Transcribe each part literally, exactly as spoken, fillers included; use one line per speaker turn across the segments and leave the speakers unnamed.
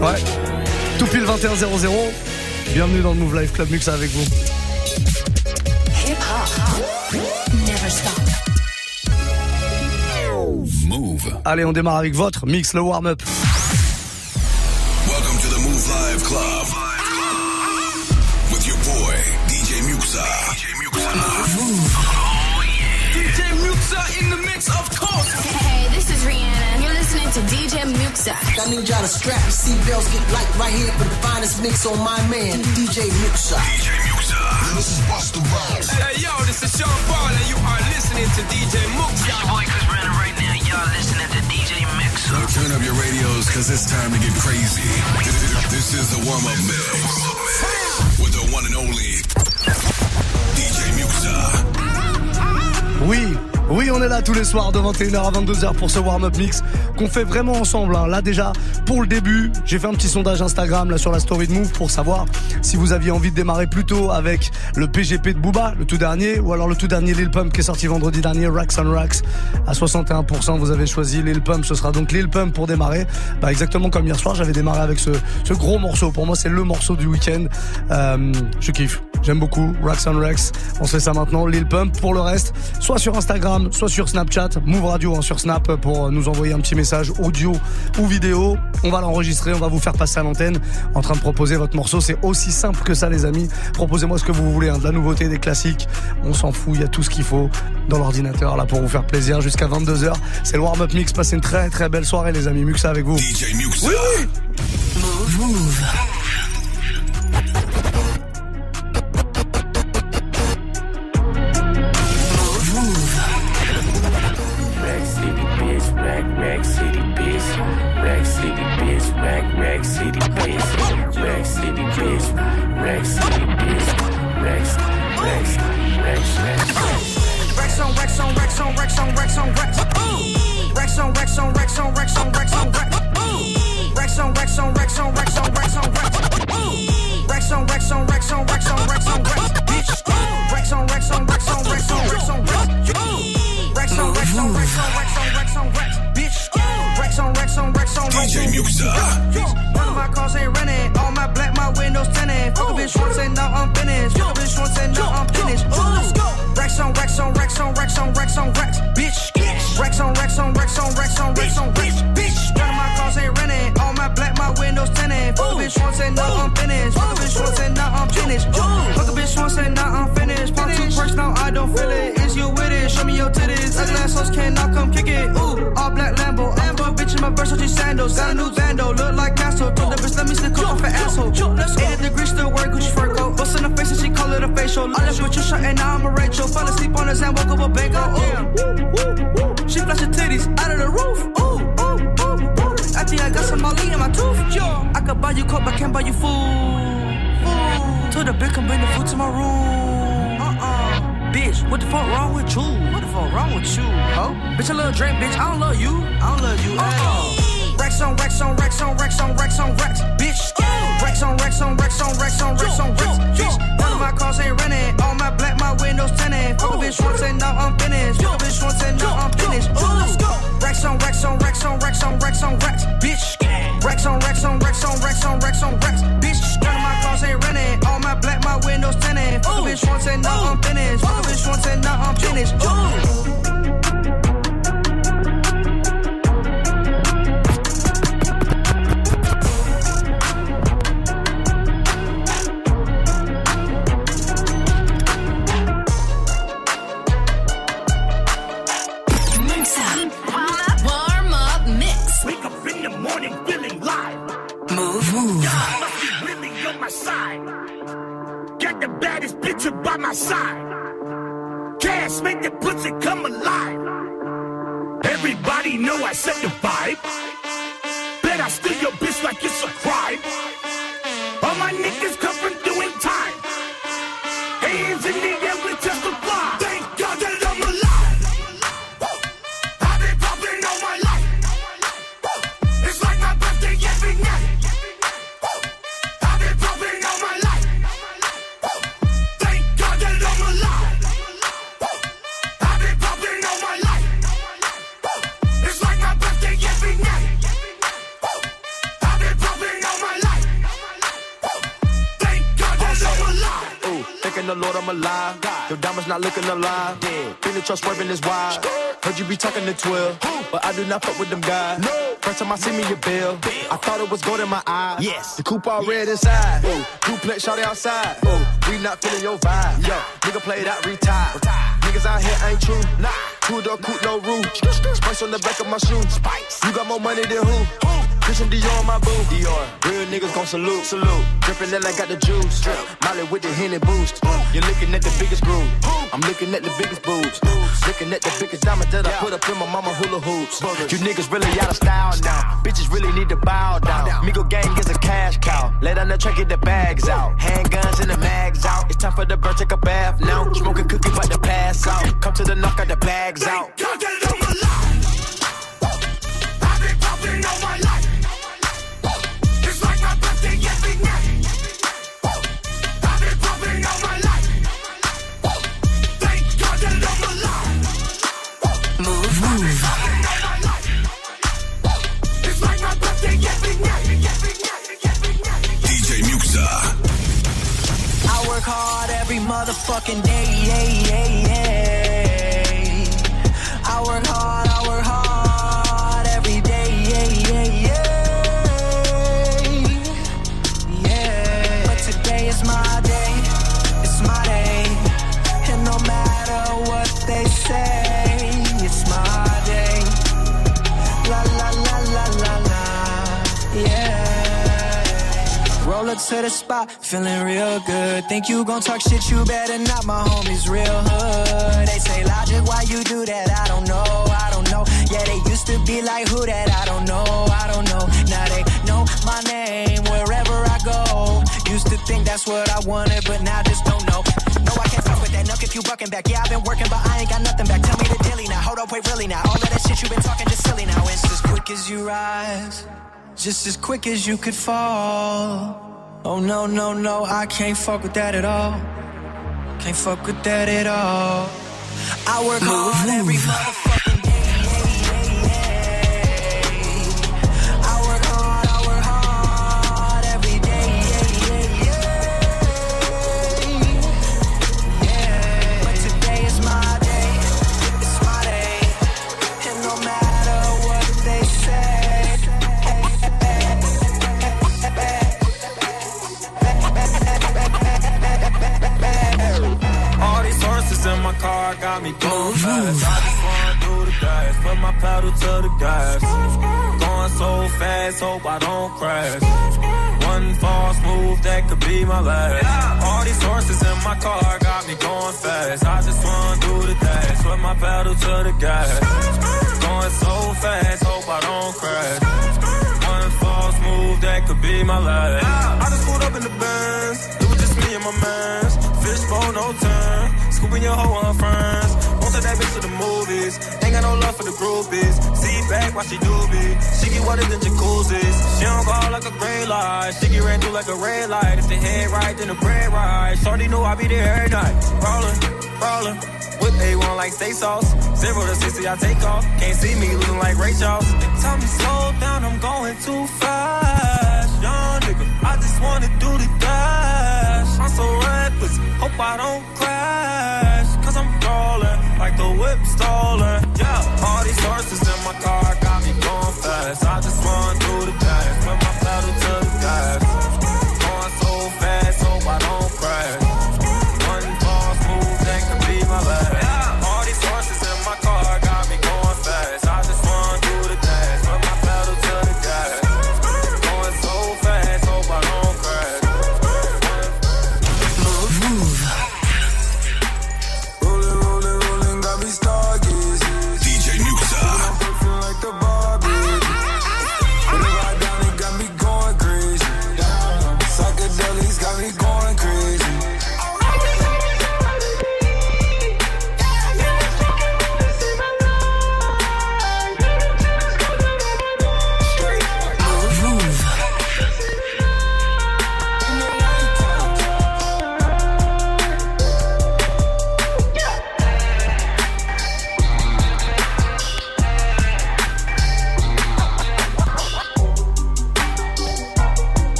Ouais, tout pile vingt et un zéro zéro. Bienvenue dans le Move Life Club Muxa avec vous.
Hip hop, never stop.
Move. Allez, on démarre avec votre mix, le warm-up.
Welcome to the Move Live Club with your boy D J Muxa. D J Muxa.
Move.
Oh yeah.
D J Muxa in the mix, of course. Hey, this is Rihanna. You're listening to D J Muxa.
I need y'all to strap your seatbelts, get light right here for the finest mix on my man, D J Muxa.
D J Muxa. This is Busta Rhymes.
Hey, yo, this is Sean Paul, and you are listening to D J Muxa.
Your boy Chris Brennan right now. Y'all listening to D J Muxa.
Now turn up your radios, cause it's time to get crazy. This is the warm-up mix with the one and only D J Muxa.
Oui, oui, on est là tous les soirs de vingt et une heures à vingt-deux heures pour ce warm-up mix qu'on fait vraiment ensemble. Hein. Là déjà, pour le début, j'ai fait un petit sondage Instagram là sur la story de Move pour savoir si vous aviez envie de démarrer plutôt avec le P G P de Booba, le tout dernier, ou alors le tout dernier Lil Pump qui est sorti vendredi dernier, Racks on Racks. À soixante et un pour cent, vous avez choisi Lil Pump, ce sera donc Lil Pump pour démarrer. Bah, exactement comme hier soir, j'avais démarré avec ce, ce gros morceau. Pour moi, c'est le morceau du week-end. Euh, je kiffe. J'aime beaucoup Racks on Racks. On se fait ça maintenant, Lil Pump. Pour le reste, soit sur Instagram, soit sur Snapchat, Move Radio hein, sur Snap pour nous envoyer un petit message audio ou vidéo. On va l'enregistrer, on va vous faire passer à l'antenne en train de proposer votre morceau. C'est aussi simple que ça, les amis. Proposez-moi ce que vous voulez, hein, de la nouveauté, des classiques. On s'en fout, il y a tout ce qu'il faut dans l'ordinateur là pour vous faire plaisir jusqu'à vingt-deux heures. C'est le warm-up mix. Passez une très très belle soirée, les amis. Muxa avec vous.
D J Muxa.
Oui, oui.
Move, move.
Rack City, bitch. Rack City, bitch. Rack, Rack City, bitch. Rack City, bitch. Rack City, bitch. Racks, racks, racks, racks.
Racks on racks on racks on racks on racks on racks. Racks on racks on racks on racks on racks on racks. Racks on racks on racks on racks on racks on racks. Racks on racks on racks on racks on racks on racks. Bitch. Racks on racks on racks on racks on racks on racks. Racks on racks on racks on racks on racks on racks. Bitch. Racks on racks on racks on racks.
D J Muxa.
None of my cars ain't rented. All my black, my windows tinted. Fuck a bitch once and now I'm finished. Fuck a bitch once and now I'm finished. Ooh. Racks on racks on racks on racks on racks on racks. Bitch. Racks on racks on racks on racks on racks on racks. Bitch. None of my cars ain't rented. All my black, my windows tinted. Fuck a bitch once and now I'm finished. Fuck a bitch once and now I'm finished. Fuck a bitch once and now I'm finished. Pop two perks now I don't feel it. Is you with it? Show me your titties. Ugly ass hoes can now come kick it. Ooh. All black Lambo. I'm a bitch in my Versace sandals. Got a new bando. Look like Castro. Told the bitch let me stick up off an asshole. eighty degrees still wear Gucci fur coat. Bust in the face and she call it a facial. I left with your shirt and now I'm a Rachel. Fell asleep on his hand, woke up a bango. Ooh. She flash her titties out of the roof. Ooh, ooh, ooh, ooh. I think I got some Molly in my tooth. Yo, I could buy you coke, but can't buy you food. Food. Told the bitch come bring the food to my room. Uh-uh. Bitch, what the fuck wrong with you? What the fuck wrong with you? Oh, bitch, I love Drake, bitch. I don't love you. I don't love you. Uh-uh. Racks on racks on racks on racks on racks on racks. Bitch. Racks on racks on racks on racks on racks on racks. Bitch. None of my cars ain't rented. All my black, my windows tinted. Fuck a bitch once and now I'm finished. Fuck a bitch once and now I'm finished. Ooh. Racks on racks on racks on racks on racks on racks. Bitch. Racks on racks on racks on racks on racks on racks. Bitch. None of my cars ain't rented. All my black, my windows tinted. Fuck a bitch once and now I'm finished. Fuck a bitch once and now I'm finished. Ooh.
By my side, cash make the pussy come alive. Everybody know I set the vibe. Bet I steal your bitch like it's a crime. All my niggas come from doing time. Hands in the air, we testify. Thank God that I'm alive. I've been popping all my life. It's like my birthday every night. I've been popping all my life. It's like my birthday every night. I've been popping all
Lord, I'm alive. Your diamonds not looking alive. Been the trust swerving is wide. Heard you be talking to twelve, but I do not fuck with them guys. First time I see me, your bill. I thought it was gold in my eyes. Yes. The coupe all red inside. Ooh. Duplex shawty outside. Ooh. We not feeling your vibe. Yo, nigga played out, retired. Niggas out here ain't true. Nah. Two door coupe, no roof. Spice on the back of my shoe. Spice. You got more money than who? Christian Dior on my boo. Dior. Real niggas gon' salute. Salute. Drippin' that I got the juice. Drip. Molly with the Henny boost. You're looking at the biggest groove. I'm looking at the biggest boobs. Looking at the biggest diamond that I put up in my mama hula hoops. You niggas really out of style now. Bitches really need to bow down. Migo gang is a cash cow. Lay down the track, get the bags out. Handguns and the mags out. It's time for the bird, take a bath now. Smoking cookie, about to pass out. Come to the knock, got the bags out.
I've been popping all my life. It's like my birthday every night. I've been popping all my life. Thank God that I'm alive. Move, move. It's like my birthday every night.
D J Muxa.
I work hard every motherfucking day. Yeah, yeah, yeah. I work hard, I work hard every day. Yeah, yeah, yeah. Yeah. But today is my day. It's my day. And no matter what they say, it's my day. La la la la la la. Yeah. Roll up to the spot, feeling real good. Think you gon' talk shit, you better not, my homies real hood. They say, Logic, why you do that? I don't know, I don't know. Yeah, they used to be like, who that? I don't know, I don't know. Now they know my name wherever I go. Used to think that's what I wanted, but now just don't know. No, I can't fuck with that nuck if you bucking back. Yeah, I've been working, but I ain't got nothing back. Tell me the dilly now, hold up, wait, really now. All of that shit you been talking just silly now. It's as quick as you rise, just as quick as you could fall. Oh no, no, no, I can't fuck with that at all. Can't fuck with that at all. I work hard every motherfucking day. I work hard, I work hard every day. Yeah. But today is my day. It's my day. And no matter what they say.
All these horses in my car got me going fast. I just wanna do the dash, put my pedal to the gas. Going so fast, hope I don't crash. One false move, that could be my last. All these horses in my car got me going fast. I just wanna do the dash, put my pedal to the gas. Going so fast, hope I don't crash. One false move, that could be my last. I just pulled up in the Benz, it was just me and my mans. Fishbowl, no turn. Scooping your hoe on her friends. Won't take that bitch to the movies. Ain't got no love for the groupies. See back while she doobie. She get wetter than jacuzzis. She don't go out like a gray light. She get ran through like a red light. If the head right, then the bread right. Shorty knew I be there every night. Rollin', rollin'. Whip A one like steak sauce. Zero to sixty, I take off. Can't see me looking like Ray Charles. They tell me slow down, I'm going too fast. Young nigga, I just wanna do the dash. I'm so reckless, hope I don't crash. Cause I'm rolling like the whip stolen. Yeah, all these horses in my car got me going fast. I just wanna do the dash, put my pedal to the gas. Going so fast, hope I don't crash. One false move, that could be my last. Yeah, all these horses in my car got me going fast. I just wanna do the dash, put my pedal to the gas. Going so fast, hope I don't crash.
Move, move.
D J Muxa.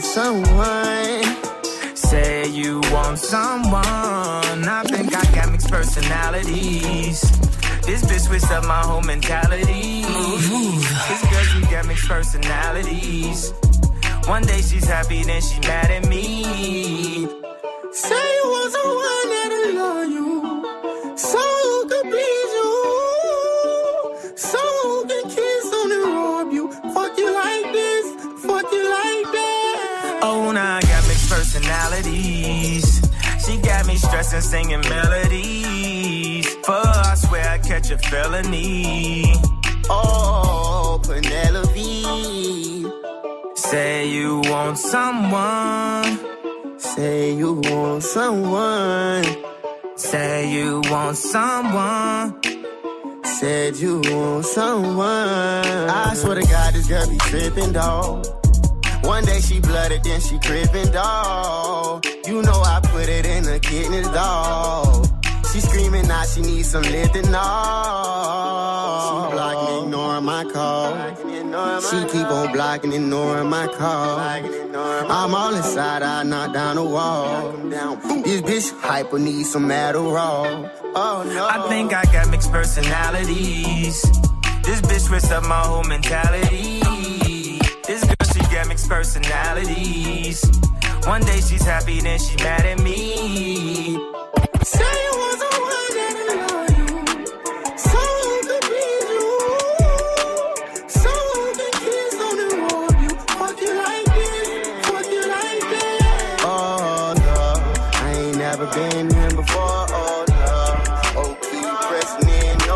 someone.
Say you want someone. I think I got mixed personalities. This bitch switched up my whole mentality. This girl, she got mixed personalities. One day she's happy, then she mad at me.
Say you want someone that'll love you, so who could please you, so who can kiss on and rob you, fuck you like this, fuck you like that.
Oh, now I got mixed personalities. She got me stressing, singing melodies. For her, I swear I catch a felony.
Oh, Penelope.
Say you want someone.
Say you want someone.
Say you want someone.
Said you want someone. I swear to God, this girl be trippin', dawg. One day she blooded, then she crippin', dawg. You know I put it in the kidneys, dawg. She screaming now she needs some Lithanol. She blocking, ignoring my call. She keep on blocking, ignoring my call. I'm all inside, I knock down the wall. This bitch hyper needs some Adderall. Oh no.
I think I got mixed personalities. This bitch switched up my whole mentality. This girl, she got mixed personalities. One day she's happy, then she mad at me.
Say you want someone that'll love you, so who could please you, so who can kiss on and rob you, fuck you like this, fuck you like that. Oh love, I ain't never been here before. Oh love, oh keep pressing in. Oh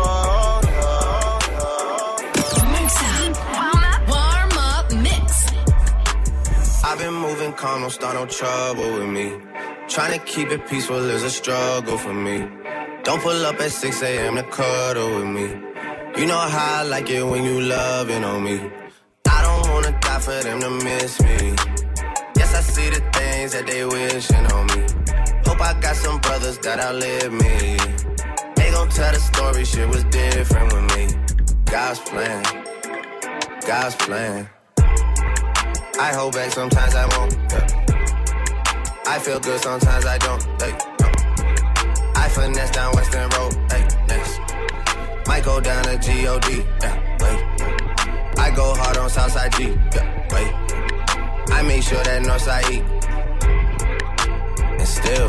Warm up, warm up mix.
I've been moving calm, don't start no trouble with me. Trying to keep it peaceful is a struggle for me. Don't pull up at six a.m. to cuddle with me. You know how I like it when you loving on me. I don't wanna die for them to miss me. Yes, I see the things that they wishing on me. Hope I got some brothers that outlive me. They gon' tell the story, shit was different with me. God's plan, God's plan. I hold back, sometimes I won't. Yeah. I feel good, sometimes I don't. Hey, no. I finesse down Western Road. Hey, next. Might go down to G O D. Yeah, wait. I go hard on Southside G. Yeah, wait. I make sure that Northside E. And still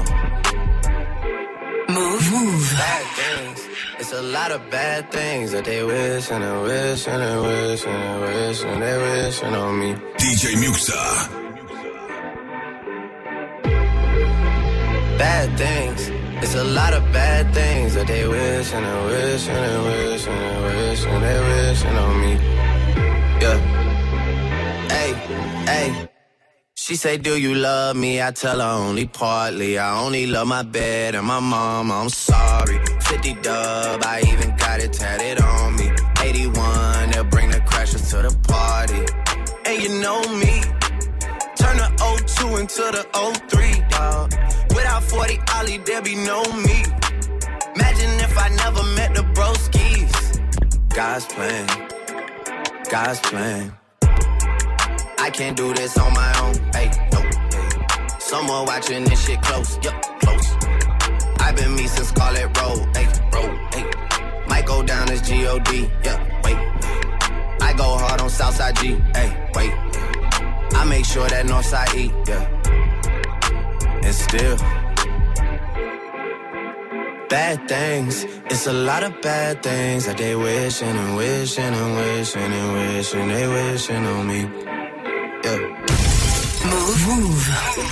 Move, move.
Bad things. It's a lot of bad things that they wish and they wish and they wish and they wish and they wishing on me.
D J Muxxa.
Bad things. It's a lot of bad things that they wish and they wish and they wish and they wish and they wishing on me. Yeah. Hey, hey. She say, do you love me? I tell her only partly. I only love my bed and my mama, I'm sorry. fifty dub, I even got it tatted on me. eighty-one, they'll bring the crashers to the party. And you know me, turn the oh two into the oh three, dawg. Without forty Ollie, there be no me. Imagine if I never met the broskies. God's plan, God's plan. I can't do this on my own, hey, no, hey. Someone watching this shit close, yup, close. I've been me since Scarlet Road, hey, road, hey. Might go down as G O D, yeah, wait. I go hard on Southside G, hey, wait. I make sure that Northside E, yeah. And still bad things. It's a lot of bad things that they wishing and wishing and wishing and wishing they wishing on me. Yeah.
Move, move.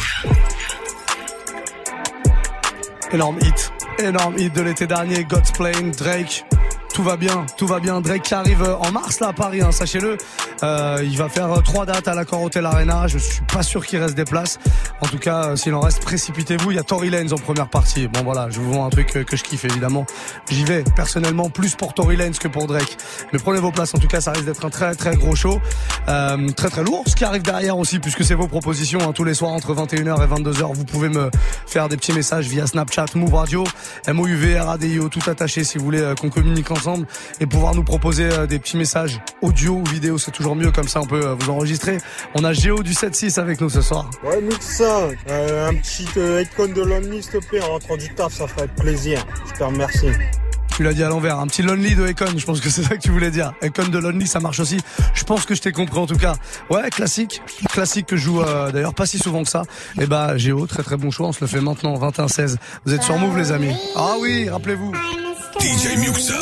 Énorme hit, énorme hit de l'été dernier, God's Plan, Drake. Tout va bien, tout va bien. Drake qui arrive en mars là à Paris, hein, sachez-le. Euh, il va faire trois dates à l'Accor Hotel Arena. Je suis pas sûr qu'il reste des places. En tout cas, euh, s'il en reste, précipitez-vous. Il y a Tory Lanez en première partie. Bon voilà, je vous vends un truc que, que je kiffe évidemment. J'y vais personnellement plus pour Tory Lanez que pour Drake. Mais prenez vos places. En tout cas, ça risque d'être un très très gros show, euh, très très lourd. Ce qui arrive derrière aussi, puisque c'est vos propositions hein, tous les soirs entre vingt et une heures et vingt-deux heures. Vous pouvez me faire des petits messages via Snapchat, Move Radio, M O U V R A D I O, tout attaché si vous voulez euh, qu'on communique ensemble. ensemble et pouvoir nous proposer euh, des petits messages audio ou vidéo, c'est toujours mieux, comme ça on peut euh, vous enregistrer. On a Géo du sept six avec nous ce soir.
Ouais, Muxa, euh, un petit euh, icon de Lonely, s'il te plaît, en rentrant du taf, ça ferait plaisir. Je te remercie.
Tu l'as dit à l'envers, un petit Lonely de Econ, je pense que c'est ça que tu voulais dire. Econ de Lonely, ça marche aussi. Je pense que je t'ai compris en tout cas. Ouais, classique, classique que je joue euh, d'ailleurs pas si souvent que ça. Et bah Géo, très très bon choix, on se le fait maintenant, vingt et un seize. Vous êtes sur Move les amis. Ah oui, rappelez-vous.
D J Muxa.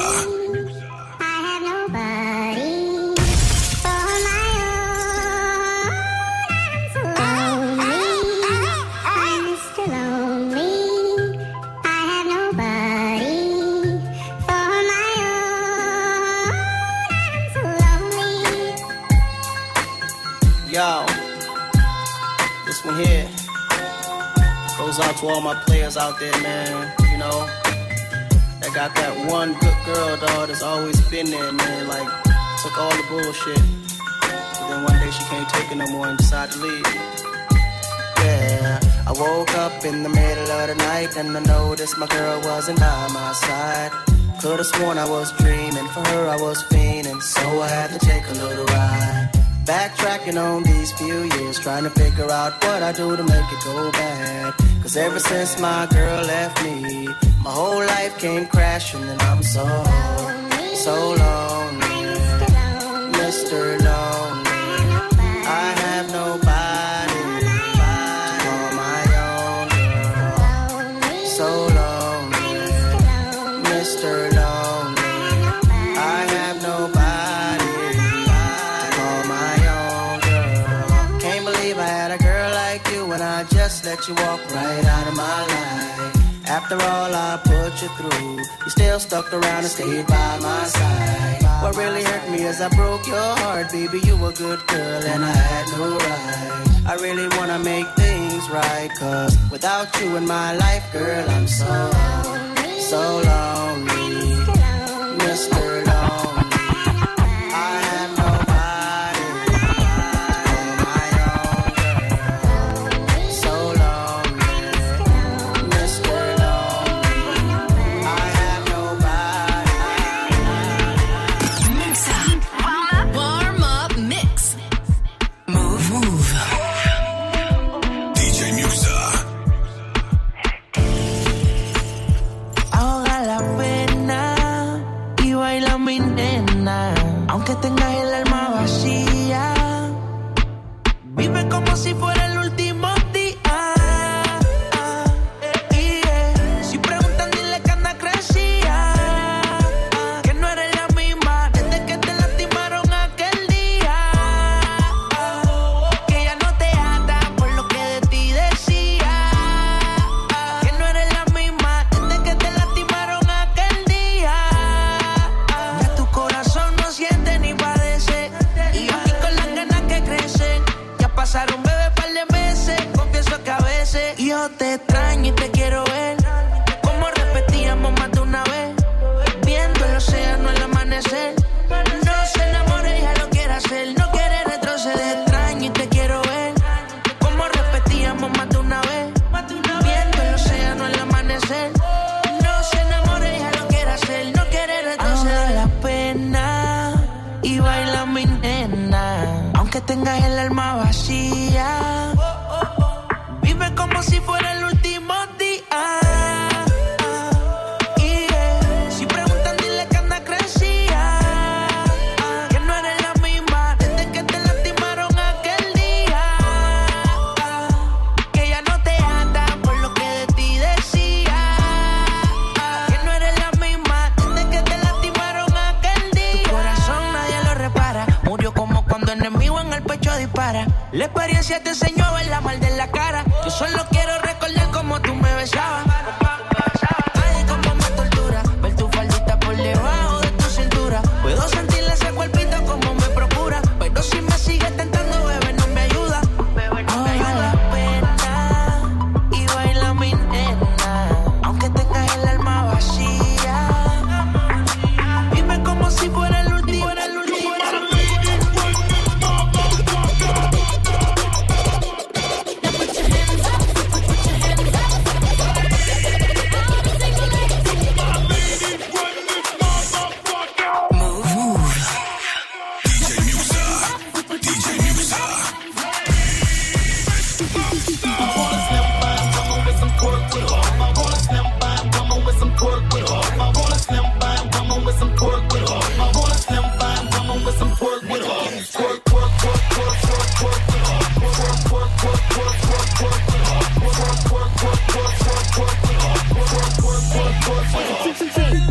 Yo, this one here goes out to all my players out there, man. You know, that got that one good girl, dog, that's always been there, man. Like, took all the bullshit. But then one day she can't take it no more and decided to leave. Yeah, I woke up in the middle of the night and I noticed my girl wasn't by my side. Could've sworn I was dreaming, for her I was fiending, so I had to take a little ride. Backtracking on these few years, trying to figure out what I do to make it go bad. Cause ever since my girl left me, my whole life came crashing and I'm so, so lonely, Mister Lonely. I have nobody to call my own girl. So lonely, Mister Lonely. I have nobody. I just let you walk right out of my life. After all I put you through, you still stuck around and stayed by my side. What really hurt me is I broke your heart, baby. You were a good girl and I had no right. I really wanna make things right, cause without you in my life, girl, I'm so, so lonely, Mister Lonely. I have nobody to call my own girl. So lonely, Mister Lonely. I have nobody.
Mix up. Warm up. Warm up mix. Move. Move.
D J Muxa.
Ahoga la pena y baila mi nena. Aunque tengas el alma vacía, vive como si fuera el último día. Yeah. Si preguntan, dile que anda crecía, que no eres la misma desde que te lastimaron aquel día, que ya no te ata por lo que de ti decía, que no eres la misma desde que te lastimaron aquel día. Ya tu corazón no siente ni padece, y yo aquí con las ganas que crecen. Ya pasaron, bebé, par de meses. Confieso que a veces yo te extraño y te quiero ver, como repetíamos más de una vez, viendo el océano al amanecer. No se enamore, ella lo quiere hacer, no quiere retroceder. Extraño y te quiero ver, como repetíamos más de una vez, viendo el océano al amanecer. No se enamore, ella lo quiere hacer, no quiere retroceder. Ahoga la pena y baila mi nena, aunque tengas el alma vacía, vive como si fuera el último día. Yeah. Si preguntan, dile que anda crecía, que no eres la misma desde que te lastimaron aquel día, que ya no te ata por lo que de ti decía, que no eres la misma desde que te lastimaron aquel día. Tu corazón nadie lo repara, murió como cuando enemigo en el pecho dispara. La experiencia te enseñó a ver la mal de la cara. Yo solo quiero recordar cómo tú me besabas. Ay, cómo me tortura ver tu faldita por debajo de tu cintura. Puedo sentirle ese cuerpito como me procura, pero si me sigues tentando, bebé, no me ayuda. Ahoga la pena y baila mi nena, aunque tengas el alma vacía, vive como si fuera el último, el último.
Now put your hands up. Put your hands up.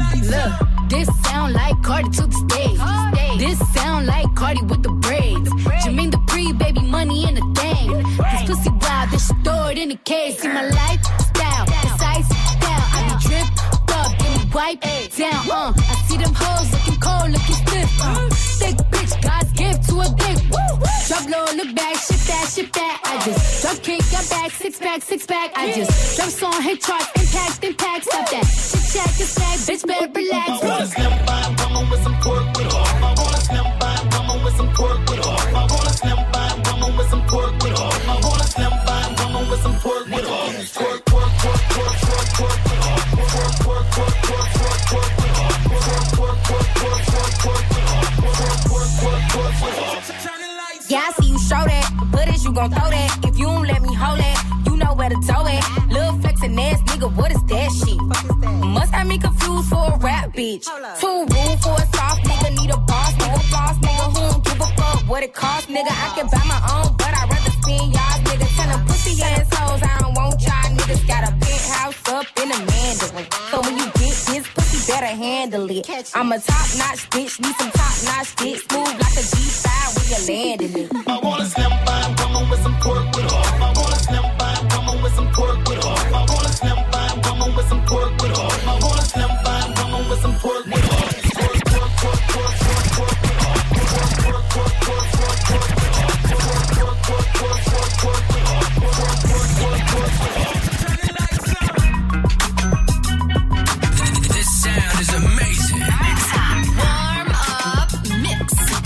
Look, this sound like Cardi to the stage. This sound like Cardi with the braids. Jermaine Dupri, baby, money in the thing. This pussy wild, this shit throw it in the case. See my lifestyle, it's ice style. I be dripped up, then we wipe down. Uh, I see them hoes looking cold, looking stiff. Uh, thick bitch, God's gift to a dick. Woo! Drop low, look back, shit that, shit that. I just drop kick, got back, six pack, six pack. I just drop song, hit charts, impact, impact. Stop that. Shit check, this bag, bitch, better relax.
I wanna slim by woman with some pork with her. I wanna slim by woman with some pork with her. I wanna slim by woman with some pork with her. I wanna slim by woman with some pork with her. Pork, pork, pork, pork, pork, pork with her. Pork, pork, pork, pork, pork, pork with her. Pork, pork, pork, pork, pork, pork with her. Pork, pork, pork, pork, pork with her.
Yeah, I see you show that, but is you gon' throw that? If you don't let me hold it, you know where to tow it. Lil' flexin' ass nigga, what is that shit? Must have me confused for a rap bitch. Too rude for a soft nigga, need a boss nigga, boss nigga who don't give a fuck what it costs, nigga. I can buy my own, but I'd rather spend y'all niggas. Tell them pussy assholes, I don't want y'all niggas. Got a penthouse up in a Mandarin. So when you get this pussy, better handle it. I'm a top notch bitch, need some top notch dick. Smooth like a G five when you landing it.
I wanna slim by woman with some pork with her. I wanna slim by woman with some pork with her. I wanna slim by woman with some pork with her. I wanna slim by woman with some pork with her. Pork, pork, pork, pork, pork, pork with her. Pork, pork, pork, pork, pork, pork with her. Pork, pork, pork, pork, pork, pork with her. Pork, pork, pork, pork with her.
This sound is amazing.
Warm up mix.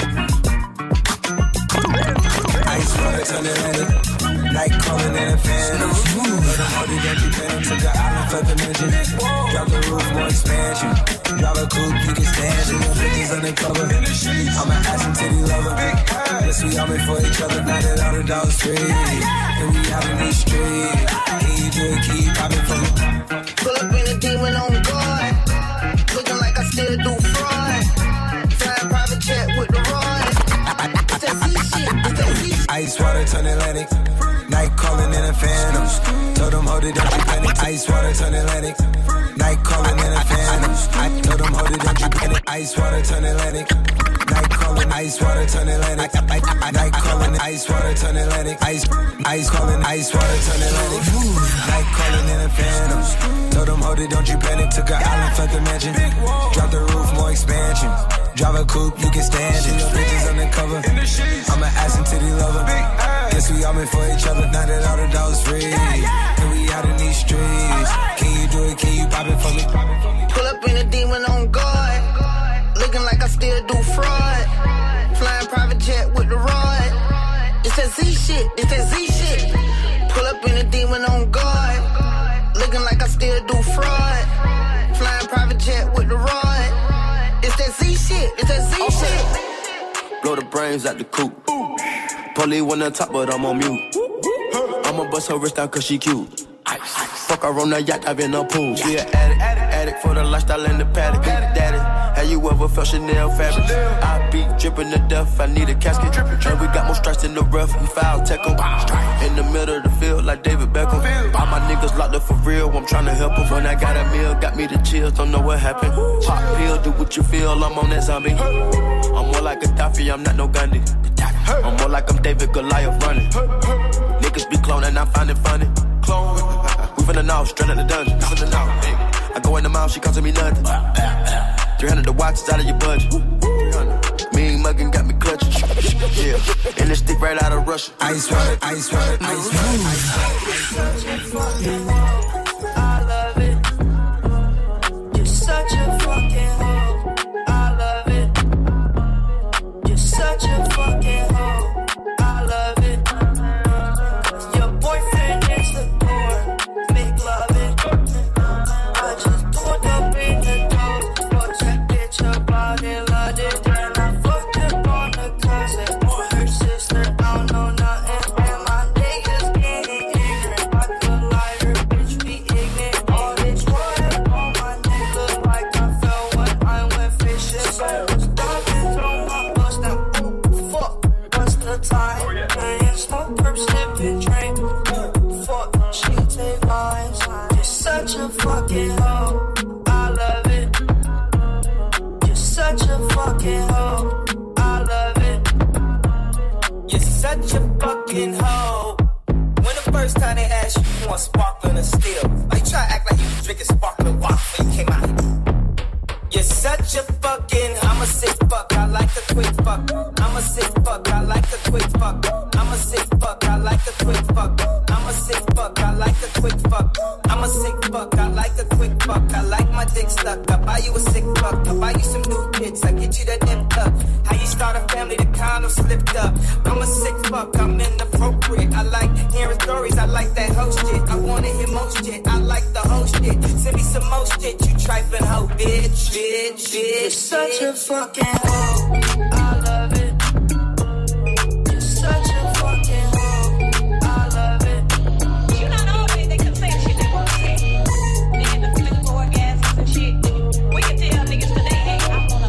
Ice water turn Atlantic. Night calling in a fan. Let them hold it down, you pay them to the island, flip the engine. Drop the roof, more expansion. Drive a coupe, you can stand it. Bitches undercover. I'm an ass and titty lover. Yes, we all made for each other. Now that all the dogs free. And we out in these streets. Can you do it? Keep popping for me.
Pull up in a demon on guard. Looking like I still do fraud. Flying private jet with the rod. It's that Z shit. It's that Z shit.
Ice water turn Atlantic. Night calling in a phantom. Told them hold it, don't you panic. Ice water turn Atlantic. Night calling in a phantom. I told them hold it, don't you panic. Ice water turn Atlantic. Night calling, ice water turn Atlantic. Night calling, ice water turn Atlantic. Ice, ice calling, ice water turn Atlantic. Night calling in a phantom. Told them hold it, don't you panic. Took an island, fled the mansion. Drop the roof, more expansion. Drive a coupe, you can stand it. Bitches undercover. I'm an ass and titty lover. Guess we all meant for each other. Now that all the dogs free. And we out in these streets. Can you do it? Can you pop it for me?
Pull up in a demon on guard. Looking like I still do fraud. Flying private jet with the rod. It's that Z shit. It's that Z shit. Pull up in a demon on guard. Looking like I still do fraud. Flying private jet with the rod. It's that Z shit. It's that Z okay. shit.
Blow the brains out the coop. Police wanna talk, but I'm on mute. I'ma bust her wrist down cause she cute. Fuck her on the yacht, I've been a pool. She an addict, addict for the lifestyle and the paddock. Daddy, have you ever felt Chanel fabric? I be dripping to death, I need a casket. And we got more strikes in the rough, we foul tech em. In the middle of the field like David Beckham. All my niggas locked up for real, I'm tryna help them. When I got a meal, got me the chills, don't know what happened. Pop pill, do what you feel, I'm on that zombie. I'm more like Gaddafi, I'm not no Gandhi. I'm more like I'm David Goliath running. Niggas be cloning, I find it funny. Clone. We finna know, straight out the dungeon. Finna know. I go in the mouth, she costing me nothing. three hundred the watch is out of your budget. Mean muggin' got me clutching. Yeah, and this stick right out of Russia.
Ice water, ice water, ice water, ice water.
I love it. You're such a fucking hoe. I love it. You're such a fucking hoe. I love it. Your boyfriend is the door. Make love it. I just pulled up in the door. Fuck that bitch up out and loved it. And I fucked up on the cousin or her sister. I don't know nothing. And my niggas getting ignorant. I could lie her bitch
You're such a fucking, I'm a sick fuck, I like a quick fuck. I'm a sick fuck, I like a quick fuck. I'm a sick fuck, I like a quick fuck. I'm a sick fuck, I like a quick fuck. I'm a sick fuck, I like a quick fuck. I like my dick stuck. I buy you a sick fuck. I buy you some new kicks. I get you that nip up. How you start a family, the condom slipped up. I'm a sick fuck, I'm inappropriate. I like hearing stories, I like that hoe shit. I wanna hear most shit, I like the whole shit. Send me some more shit, you trifling hoe, bitch, bitch, bitch. You're such a fucking hoe, I love it. You're such a fucking hoe, I love it.
You not always they can say shit they won't say. They get the physical orgasms and shit. We can tell niggas today, hey, I wanna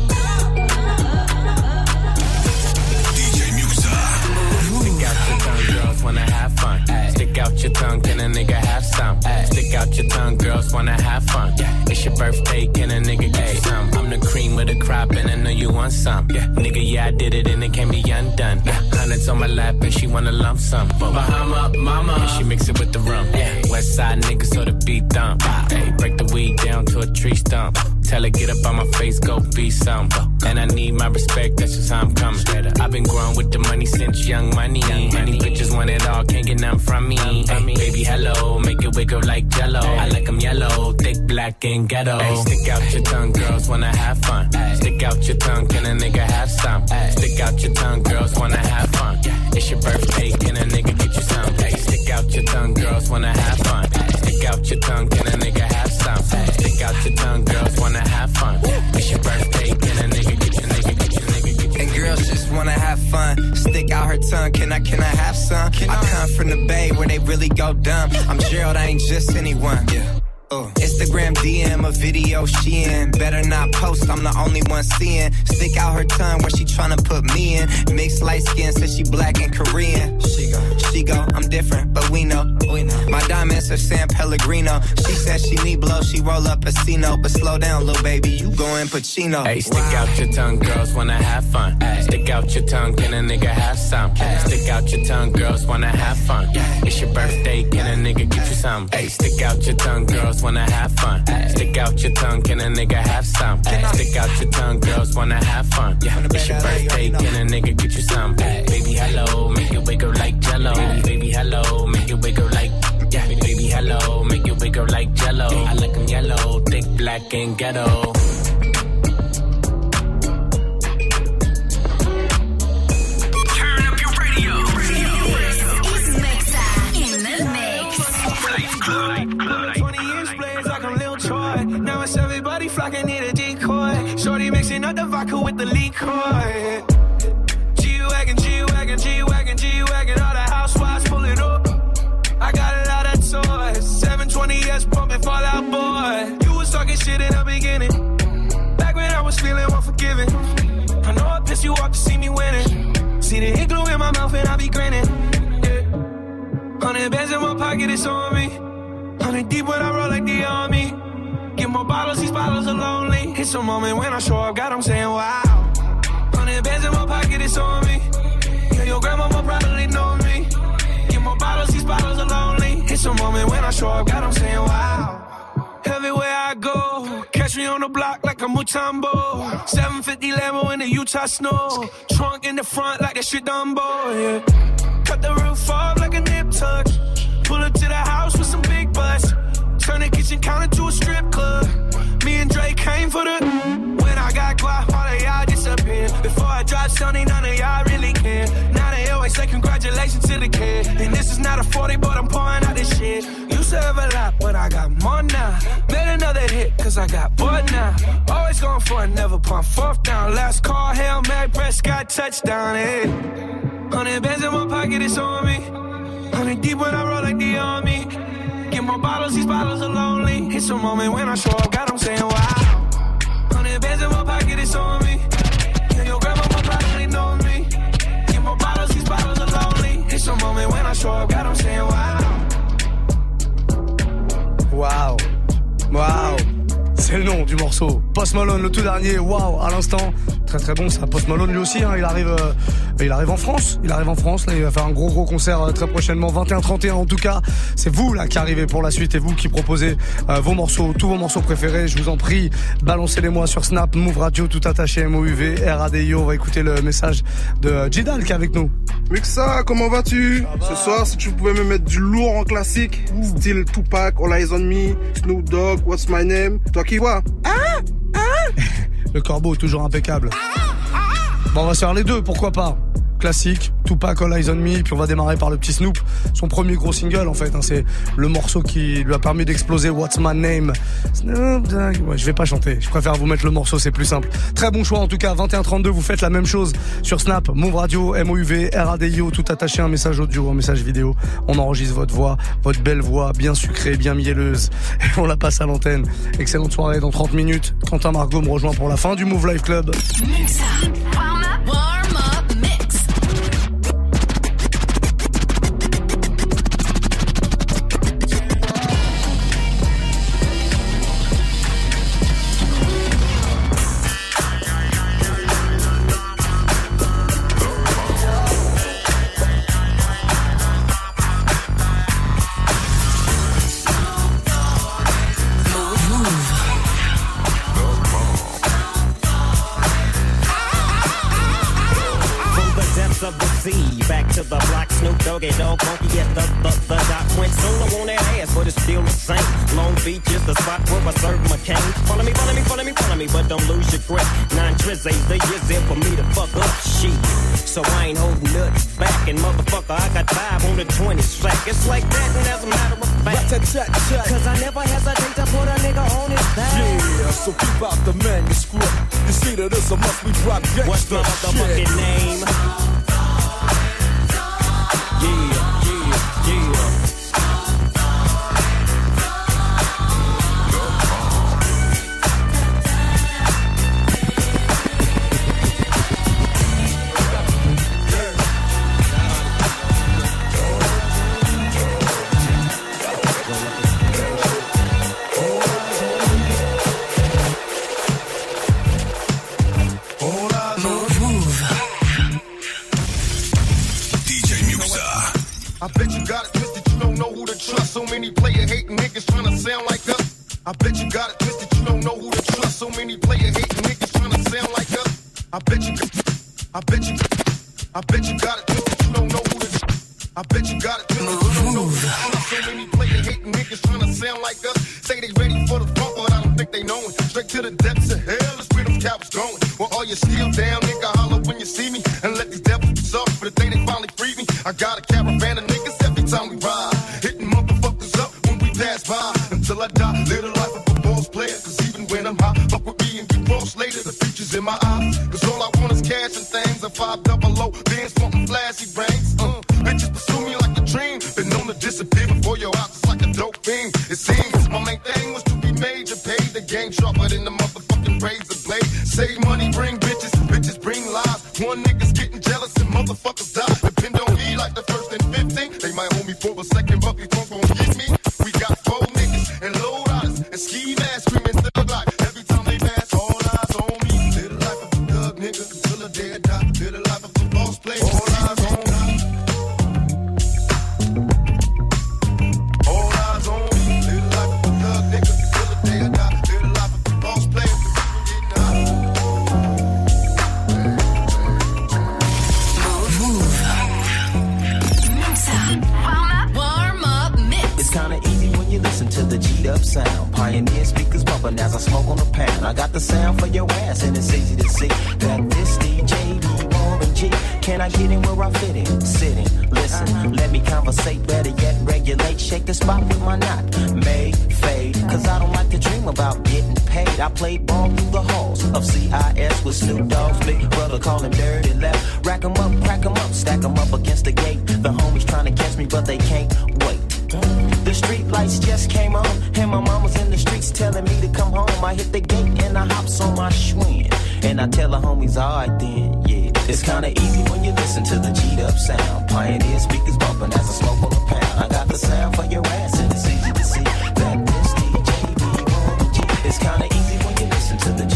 D J Muxa.
Stick out your tongue, girls wanna have fun. Ay. Stick out your tongue, can a nigga have some? Ay. Stick out your tongue, girls wanna have fun. Yeah. It's your birthday, can a nigga get some? I'm the cream of the crop and I know you want some. Yeah. Nigga, yeah, I did it and it can't be undone. Yeah. Hundreds on my lap and she wanna lump some. Bahama, mama, and she mix it with the rum. Yeah. West side niggas so the beat thump. Hey, break the weed down to a tree stump. Tell her get up on my face, go be some. And I need my respect, that's just how I'm coming. I've been growing with the money since young money. Many bitches want it all, can't get none from me. Hey, baby, hello, make it wiggle like jello. I like them yellow, thick, black, and ghetto. Hey, stick out your tongue, girls wanna have fun. Stick out your tongue, can a nigga have some? Stick out your tongue, girls wanna have fun. It's your birthday, can a nigga get you some? Hey, stick out your tongue, girls wanna have fun. Stick out your tongue, can a nigga have some? Stick out your tongue, girls wanna have fun. It's your birthday, can a nigga get your nigga get your nigga get your
And girls just wanna have fun. Stick out her tongue, can I, can I have some? Can I, I come from the Bay where they really go dumb. I'm Gerald, I ain't just anyone. Yeah. Uh. Instagram D M a video she in. Better not post, I'm the only one seeing. Stick out her tongue where she tryna put me in. Mixed light skin, says she black and Korean. She go, she go, I'm different, but we know, we know. My diamonds are San Pellegrino. She says she need blow, she roll up a Casino. But slow down, little baby, you going Pacino.
Hey, stick wow. out your tongue, girls wanna have fun. Ay. Stick out your tongue, can a nigga have some? Ay. Stick out your tongue, girls wanna have fun. Ay. It's your birthday, can a nigga get you some? Hey, stick out your tongue, girls wanna have fun. Ay. Stick out your tongue, can a nigga have some? Ay. Stick out your tongue, girls wanna have fun. Yeah, it's your birthday, can a nigga get you some? Ay. Baby, hello, make it wiggle like jello. Baby, baby, hello, make it wiggle like. Yeah, baby, hello, make it wiggle like jello. I like them yellow, thick, black, and ghetto.
Everybody flocking, need a decoy. Shorty mixing up the vodka with the liquor. G-Wagon, G-Wagon, G-Wagon, G-Wagon. All the housewives pulling up. I got a lot of toys. seven twenty S pumping Fall Out Boy. You was talking shit in the beginning. Back when I was feeling unforgiving. I know I pissed you off to see me winning. See the ink glue in my mouth and I be grinning. Yeah. Hundred bands in my pocket, it's on me. Hundred deep when I roll like the army. Get more bottles, these bottles are lonely. It's a moment when I show up, God, I'm saying wow. Hundred bands in my pocket, it's on me. Yeah, your grandma will probably know me. Get more bottles, these bottles are lonely. It's a moment when I show up, God, I'm saying wow. Everywhere I go, catch me on the block like a Mutombo. seven fifty Lambo in the Utah snow. Trunk in the front like that shit Dumbo, yeah. Cut the roof off like a nip tuck. Pull up to the house with some big butts. Turn the kitchen counter to a strip club. Me and Drake came for the. When I got guap, all of y'all disappear. Before I drop Sony, none of y'all really care. Now they always say congratulations to the kid. And this is not a forty, but I'm pouring out this shit. Used to have a lot, but I got more now. Made another hit, cause I got bored now. Always going for it, never pump fourth down. Last call, Hail Mary, Prescott, touchdown, hey. Hundred bands in my pocket, it's on me. Hundred deep when I roll like the army. Get more bottles, these bottles are lonely. It's a moment when I show up, God, I'm saying wow. Hundred bands in my pocket, it's on me. Yeah, your grandma will probably know me. Get more bottles, these bottles are lonely. It's a moment when I show up, God, I'm saying wow.
Waouh, waouh, c'est le nom du morceau. Post Malone, le tout dernier, waouh, à l'instant. Très très bon, ça. Post Malone lui aussi, hein, il arrive, euh, il arrive en France. Il arrive en France, là, il va faire un gros gros concert euh, très prochainement, vingt et un trente et un en tout cas. C'est vous là qui arrivez pour la suite et vous qui proposez euh, vos morceaux, tous vos morceaux préférés. Je vous en prie, balancez-les-moi sur Snap, Move Radio, tout attaché, M O U V, R A D I O. On va écouter le message de euh, Jidal qui est avec nous.
Muxa, comment vas-tu? Ce soir, si tu pouvais me mettre du lourd en classique, Ouh. Style Tupac, All Eyes on Me, Snoop Dogg, What's My Name, toi qui vois? Ah, ah.
Le corbeau, toujours impeccable. Bon, on va se faire les deux, pourquoi pas. Classique, Tupac, All Eyes on Me, puis on va démarrer par le petit Snoop, son premier gros single en fait, hein, c'est le morceau qui lui a permis d'exploser, What's My Name. Snoop Dogg. Ouais, je vais pas chanter, je préfère vous mettre le morceau, c'est plus simple. Très bon choix en tout cas, vingt et un trente-deux, vous faites la même chose sur Snap, Move Radio, M O U V, R A D I O, tout attaché, un message audio, un message vidéo. On enregistre votre voix, votre belle voix, bien sucrée, bien mielleuse, et on la passe à l'antenne. Excellente soirée dans trente minutes. Quentin Margot me rejoint pour la fin du Move Life Club.
Back to the block, Snoop Doggy Dogg, funky at the, the, the dot. Went solo on that ass, but it's still the same. Long Beach is the spot where I serve my cane. Follow me, follow me, follow me, follow me, but don't lose your grip. Nine trizz ain't the years in for me to fuck up shit. So I ain't holding nothing back, and motherfucker, I got five on the twenty slack. It's like that, and as a matter of fact, cause I never hesitate to put a nigga on his back.
Yeah, so keep out the manuscript. You see that this a must we drop gangsta.
What's my motherfucking name? Yeah, yeah, yeah.
I bet you got it twisted, you don't know who to trust. So many player hating niggas trying to sound like us. I bet you got it twisted, you don't know who to trust. So many player hating niggas trying to sound like us. I bet you, I bet you, I bet you got it twisted, you don't know who to trust. I bet you got it twisted, you don't know who to trust. So many player hating niggas trying to sound like us. Say they ready for the funk, but I don't think they know it. Straight to the depths of hell is where them cowards going. Well, all you still down, nigga, holler when you see me. And let these devils be soft for the day they finally free me. I got a caravan of niggas every time we ride. Hitting motherfuckers up when we pass by. Until I die, live the life of a boss player. Cause even when I'm high, fuck with me and get cross later. The future's in my eyes. Cause all I want is cash and things. A five double O, bands wanting flashy rings. Uh, bitches pursue me like a dream. Been known to disappear before your eyes. It's like a dope thing. It seems my main thing was to be major. Pay the game sharper than the motherfucking razor blade. Save money, bring bitches. Bitches bring lies. One nigga's getting jealous and motherfuckers die. Depend on me like the first and fifteen. They might hold me for a second, but before gon' get me. We got four niggas and low riders and ski masks screaming still like every time they pass. All eyes on me. Live the life of a thug nigga until the day I die. Live the life of a boss player. All eyes on me. All eyes on me. Live the life of a thug nigga until the day I die. Live the life of a boss player.
Kinda easy when you listen to the G'd up sound. Pioneer speakers bumping as I smoke on the pound. I got the sound for your ass and it's easy to see that this D J be Warren G. Can I get in where I fit in? Sitting, listen, let me conversate, better yet regulate. Shake the spot with my knot, may fade. Cause I don't like to dream about getting paid. I played ball through the halls of C I S with Snoop Dogg's big brother, call him dirty left. Rack 'em up, crack 'em up, stack 'em up against the gate. The homies trying to catch me but they can't wait. The street lights just came on, and my mama's in the streets telling me to come home. I hit the gate and I hops on my Schwinn, and I tell the homies, alright then, yeah. It's kinda easy when you listen to the G'd up sound. Pioneer speakers bumping as I smoke on the pound. I got the sound for your ass and it's easy to see that this D J be on the G. It's kinda easy when you listen to the G.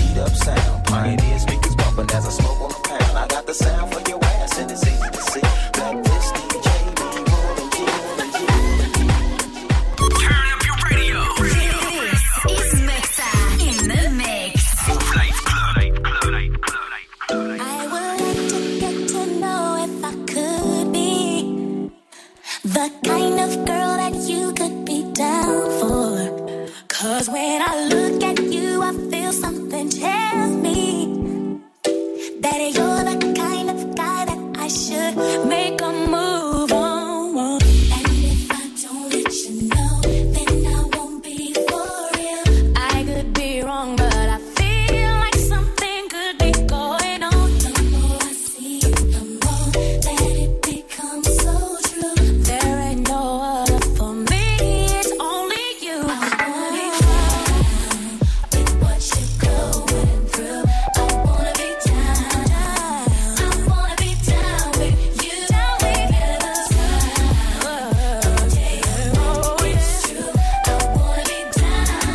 something tells me that you're the kind of guy that I should make a move on. And if I don't let you know, then I won't be for real. I could be wrong, but I feel like something could be going on. The more I see you, the more that it becomes so true. There ain't no other for me, it's only you. I wanna be down with what you're going through. I wanna be down, I wanna be down with you. Down with you. Oh, it's true. I wanna be down.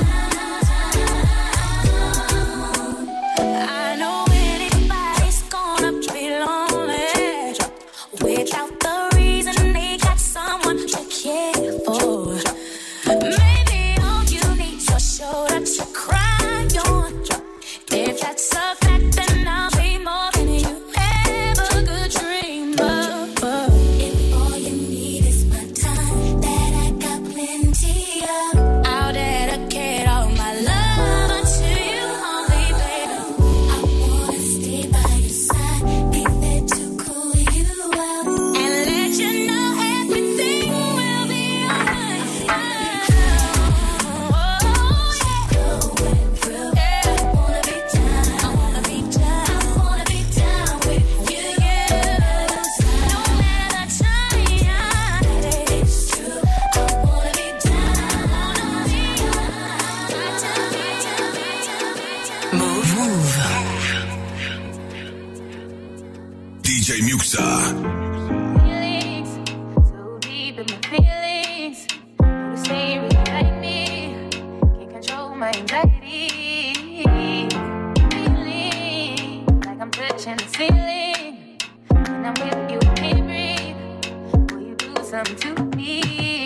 I know anybody's gonna be lonely without the reason they got someone to care for. Maybe all you need's a shoulder to cry on. If that's a fact, then I'll be more than you ever could dream of. If all you need is my time, that I got plenty of, I'll dedicate all my love to you only, baby. I wanna stay by your side, be there to cool you out, and let you know everything will be alright. Oh, yeah. Going through, yeah. I wanna be down, I wanna be down, I wanna be down with you. No matter the time, it's true. I wanna be down, I wanna be down.
Move, move.
D J Muxa.
Feelings, so deep in my feelings. You say you really like me, can't control my anxiety. Feeling like I'm touching the ceiling. When I'm with you, I can't breathe. Will you do something to me?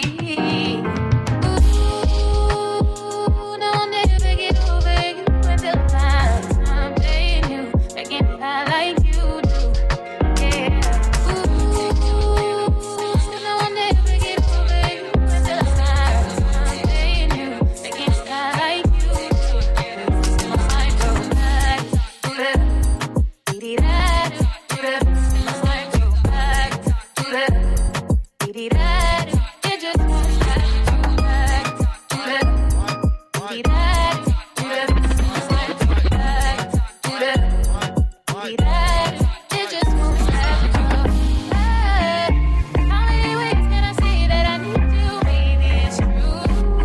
Ooh, no, I'll never get over you until I'm someday new. I can't fly like you do. Yeah. Ooh, no, I'll never get over you until I'm someday new. I can't fly like you do. My mind goes back to the dee-dee-da, to the. My mind goes back to the dee-dee-da. It just goes back to back to the dee-dee-da, to the. My mind goes back to the dee-dee-da. It just moves back to back. How many ways can I say that I need you, baby? It's true.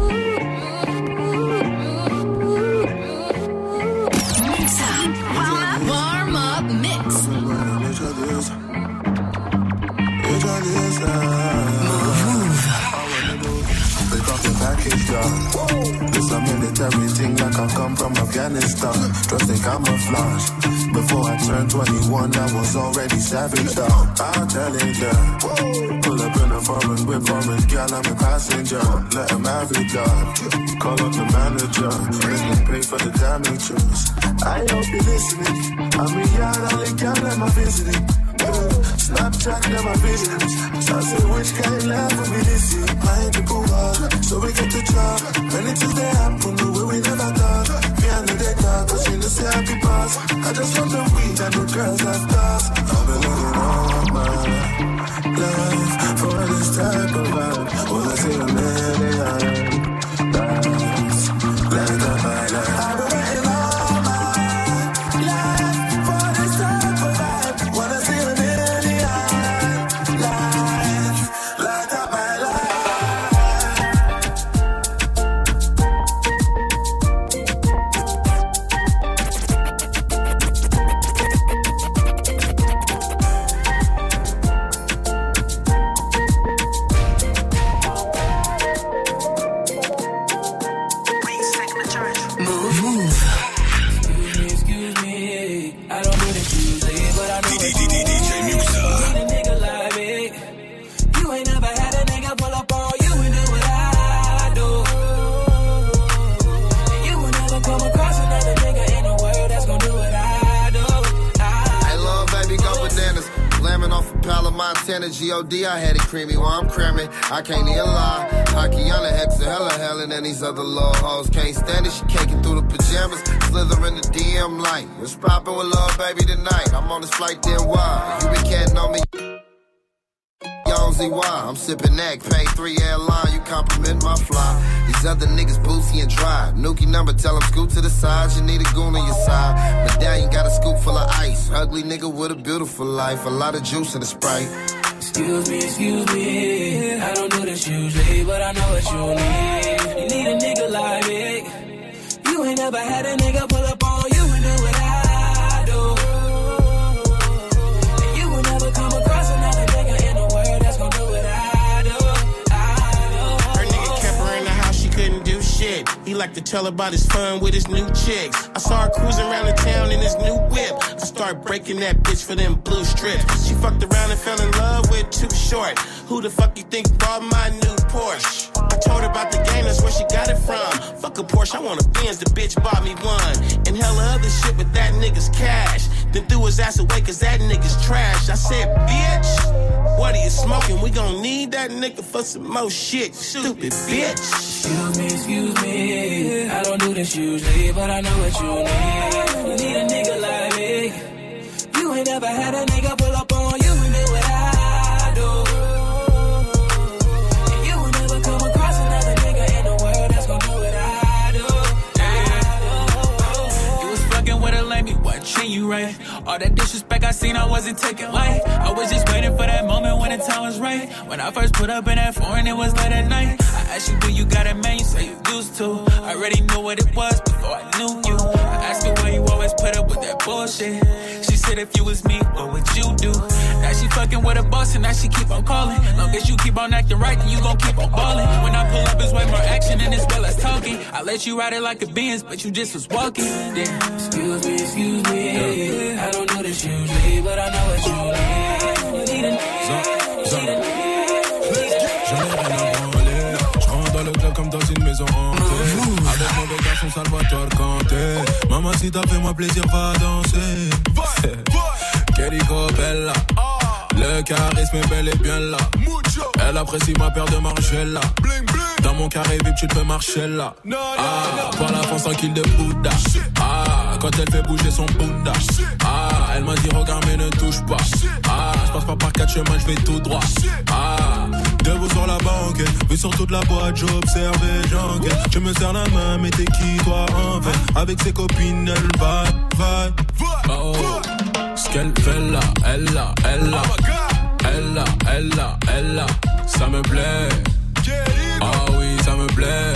Mix up. Warm up mix.
Pick up the package, dog. This a military thing like I come from Afghanistan. Dressed in camouflage. Before I turned twenty-one, I was already savage, dog. I'll tell it, yeah. Pull up in a foreign whip, foreign girl, I'm a passenger. Let him have it, dog. Call up the manager. Let me pay for the damages. I hope you're listening. I'm a yard, all the girl, I'm visiting. Snapchat, never videos. So I say, which kind of love will be this year? Mind the poor, so we get the job. When it is there, happen the way we never thought. Me and the dead dog, cause you know, say happy pass. I just want the weed and the girls that pass. I've been looking all my life for this type of vibe. Well, I see a million lives. Like that, my life. I've been waiting all my life for this type of vibe. Wanna see a million lives. Like that, my life.
Move, move.
Excuse me, excuse me. I don't mean to choose it, but I know
D J Muxa.
need a nigga like me. You ain't never had a nigga pull up on you and do what I do. You will never come across another nigga in the world that's gonna do what I do. I
Hey, lil' baby, go bananas. Slamming off a pile of Montana G O D, I had it creamy while I'm cramming. I can't even lie. Akiana Hexa, hella hella, and these other little hoes can't stand it. She caking through the pajamas. slither in the D M like, what's poppin' with love, baby, tonight? I'm on this flight, then why? You been catting on me. Z Y, I'm sippin' neck, pay three airline, you compliment my fly. These other niggas boozy and dry. Nuki number, tell them scoot to the side, you need a goon on your side. Medallion got a scoop full of ice. Ugly nigga with a beautiful life, a lot of juice in the Sprite.
Excuse me, excuse me, I don't do this usually, but I know what you need. You need a nigga like me. You ain't never had a nigga pull up on you and do what I do. And you will never come across another nigga in the world that's gonna do what I do. I do.
Her nigga kept her in the house, she couldn't do shit. He liked to tell about his fun with his new chicks. I saw her cruising around the town in his new whip. I started breaking that bitch for them blue strips. She fucked around and fell in love with Too Short. Who the fuck you think bought my new Porsche? I told her about the game, that's where she got it from. Fuck a Porsche, I want a Benz, the bitch bought me one. And hella other shit with that nigga's cash. Then threw his ass away cause that nigga's trash. I said, bitch, what are you smoking? We gon' need that nigga for some more shit, stupid bitch.
Excuse me, excuse me, I don't do this usually, but I know what you need. You need a nigga like me. You ain't never had a nigga pull up on you and do what I do. And you will never come across another nigga in the world that's gonna do what I do. Yeah. You was fucking with a lame, what treat you right? All that disrespect I seen, I wasn't taking light. I was just waiting for that moment when the time was right. When I first put up in that foreign, it was late at night. I asked you, do you got it, man? You say you used to. I already knew what it was before I knew you. I asked her why you always put up with that bullshit. She said if you was me, what would you do? Now she fucking with a boss and now she keep on calling. Long as you keep on acting right, then you gon' keep on balling. When I pull up, it's way more action and it's well as talking. I let you ride it like a Benz, but you just was walking. Damn. Excuse me, excuse me, I don't do this usually, but I know what you need. You need a nigga.
J'en ai rien à branler. J'rentre dans le club comme dans une maison hantée. Avec mon garçon Salvatore Kanté. Mamacita, fais-moi plaisir, va danser. Querico Bella. Le charisme est bel et bien là. Elle apprécie ma paire de Margiela. Dans mon carré V I P, tu te fais marcher là. Ah, par la France tranquille de Bouddha. Ah, quand elle fait bouger son Bouddha. Ah, elle m'a dit regarde mais ne touche pas. Ah, je passe pas par quatre chemins, je vais tout droit. Ah, debout sur la banquette, vu sur toute la boîte, j'observe et j'enquête. Je me serre la main, mais t'es qui toi en fait? Avec ses copines, elle va, va. Oh, ce qu'elle fait là, elle là, elle là. Elle là, elle là, elle là. Ça me plaît. Ah oui, ça me plaît.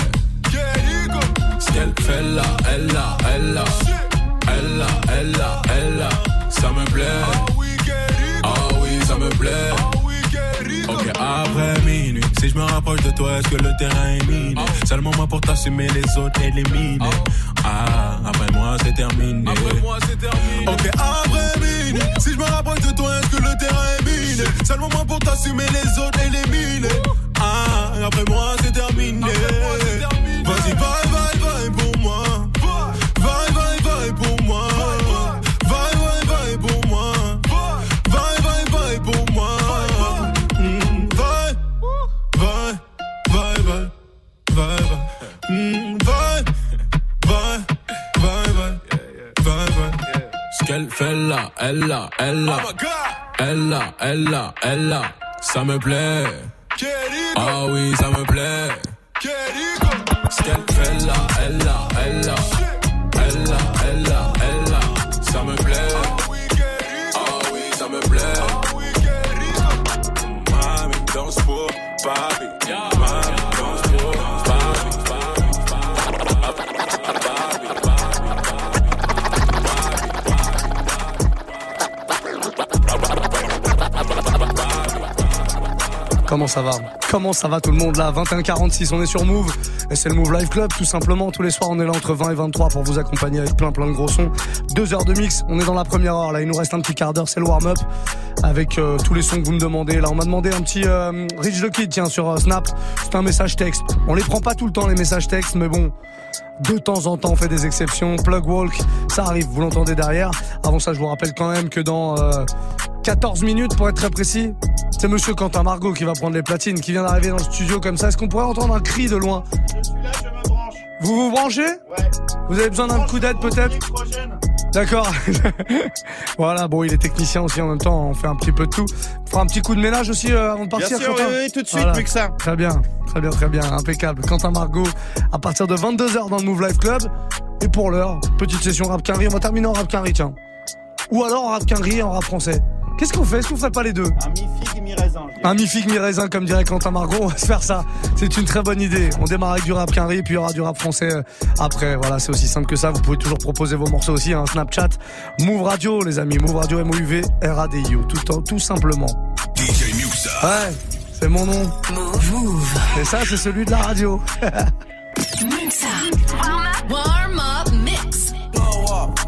Ce qu'elle fait là, elle là, elle là. Elle là, elle là, elle là. Ça me plaît. Ah oui, ça me plaît. Ok, après minuit, si je me rapproche de toi, est-ce que le terrain est miné? Seulement moi pour t'assumer, les autres éliminés. Ah, après moi c'est terminé. Après moi c'est terminé. Ok, après minuit, si je me rapproche de toi, est-ce que le terrain est miné? Seulement moi pour t'assumer, les autres éliminés. Ah, après moi c'est terminé. Vas-y, vaille, vaille, vaille pour moi. Vaille, vaille, vaille pour moi. Vaille, vaille, vaille pour moi. Vaille, vaille, vaille pour moi. Ce qu'elle fait là, elle là, elle là. Elle là, elle là, elle là. Ça me plaît. Ah oui, ça me plaît. Ce qu'elle fait là, elle là, elle là. Elle là, elle là, elle là. Ça me plaît. Ah oui, ça me plaît. Mami, danse pour papi. Mami, danse pour papi.
Comment ça va? Comment ça va tout le monde là? vingt et un quarante-six, on est sur Move. Et c'est le Move Live Club tout simplement. Tous les soirs on est là entre vingt et vingt-trois pour vous accompagner avec plein plein de gros sons. Deux heures de mix, on est dans la première heure là. Il nous reste un petit quart d'heure, c'est le warm-up. Avec euh, tous les sons que vous me demandez. Là on m'a demandé un petit euh, Rich the Kid, tiens, sur euh, Snap. C'est un message texte. On les prend pas tout le temps les messages textes, mais bon, de temps en temps on fait des exceptions. Plug Walk, ça arrive, vous l'entendez derrière. Avant ça je vous rappelle quand même que dans euh, quatorze minutes pour être très précis, c'est monsieur Quentin Margot qui va prendre les platines, qui vient d'arriver dans le studio comme ça. Est-ce qu'on pourrait entendre un cri de loin?
Je suis là, je me branche.
Vous vous branchez?
Ouais.
Vous avez besoin d'un coup d'aide peut-être? D'accord. Voilà, bon, il est technicien aussi en même temps, on fait un petit peu de tout. On fera un petit coup de ménage aussi euh, avant de partir.
Bien sûr,
Quentin.
oui, oui, tout de suite,
Voilà.
plus que ça.
Très bien, très bien, très bien, impeccable. Quentin Margot, à partir de vingt-deux heures dans le Move Life Club. Et pour l'heure, petite session rap quinri, on va terminer en rap quinri, tiens. Ou alors en rap quinri et en rap français. Qu'est-ce qu'on fait? Est-ce qu'on ferait pas les deux?
Un mi-figue, mi-raisin.
Un mi-figue, mi-raisin, comme dirait Quentin Margot, on va se faire ça. C'est une très bonne idée. On démarre avec du rap quinri, puis il y aura du rap français euh, après. Voilà, c'est aussi simple que ça. Vous pouvez toujours proposer vos morceaux aussi, hein. Snapchat, Move Radio, les amis. Move Radio, M O U V, R A D I O. Tout, tout simplement.
D J Muxa.
Ouais, c'est mon nom. Move. Et ça, c'est celui de la radio.
Muxa. Warm up, warm up mix.
Blow up.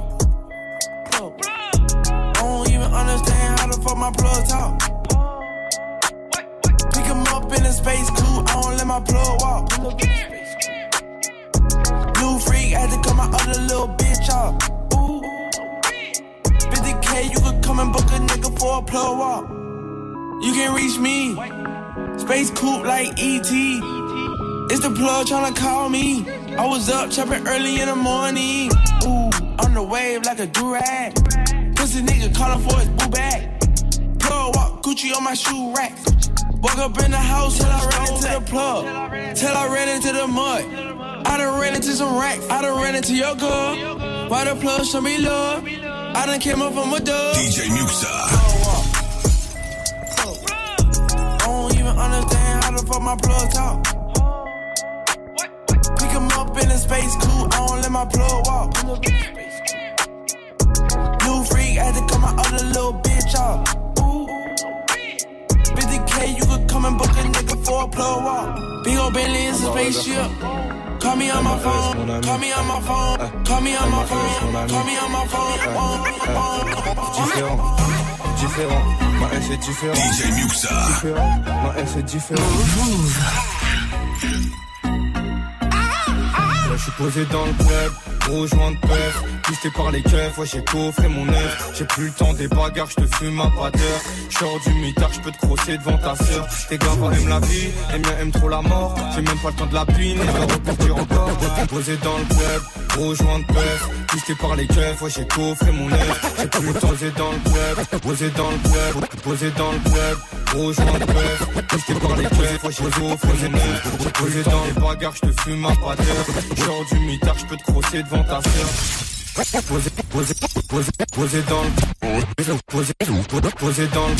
I don't even understand how the fuck my plug talk. Pick him up in a space coupe, I don't let my plug walk. Blue freak, had to cut my other little bitch off. Ooh. fifty K, you could come and book a nigga for a plug walk. You can reach me, space coupe like E T. It's the plug tryna call me. I was up chopping early in the morning. Ooh, on the wave like a durag. Pussy nigga calling for his boo bag. Plug walk, Gucci on my shoe rack. Woke up in the house till I ran into the plug. Till I ran into the mud. I done ran into some racks. I done ran into your girl. Why the plug show me love? I done came up from a dub.
D J Muxa.
I don't even understand how the fuck my plug talk. Pick him up in a space coupe, I don't let my plug walk. New freak, I had to cut my other little bitch off. Ooh. fifty K, you could come and book a nigga for a plug walk. Big ol' Bentley is a spaceship. Call me on my phone, call me on my phone, call me on my phone, call me on my phone.
Différent, différent, ma haine c'est différent.
D J Muxa.
Différent, ma haine c'est différent. Là je suis posé dans le club, gros joint de peur. Pisté par les keufs, ouais j'ai coffré mon œuf. J'ai plus le temps des bagarres, je te fume à pas d'heure. J'sors du mitard, je peux te crosser devant ta sœur. Tes gars aiment la vie, les miens aiment trop la mort. J'ai même pas le temps de la pine, et je vais repartir encore. Posé dans le club, gros joint de peur. Pisté par les keufs, ouais j'ai coffré mon œuf. J'ai plus le temps posé dans le club, posé dans le club, posé dans le club. Gros joint de peur, pisté par les keufs, ouais j'ai coffré mon œuf. Posé dans les bagarres, je te fume à pas d'heure. J'sors du mitard, je peux te crosser devant ta sœur. Posé, posé, posé, posé dans le posé, posé dans le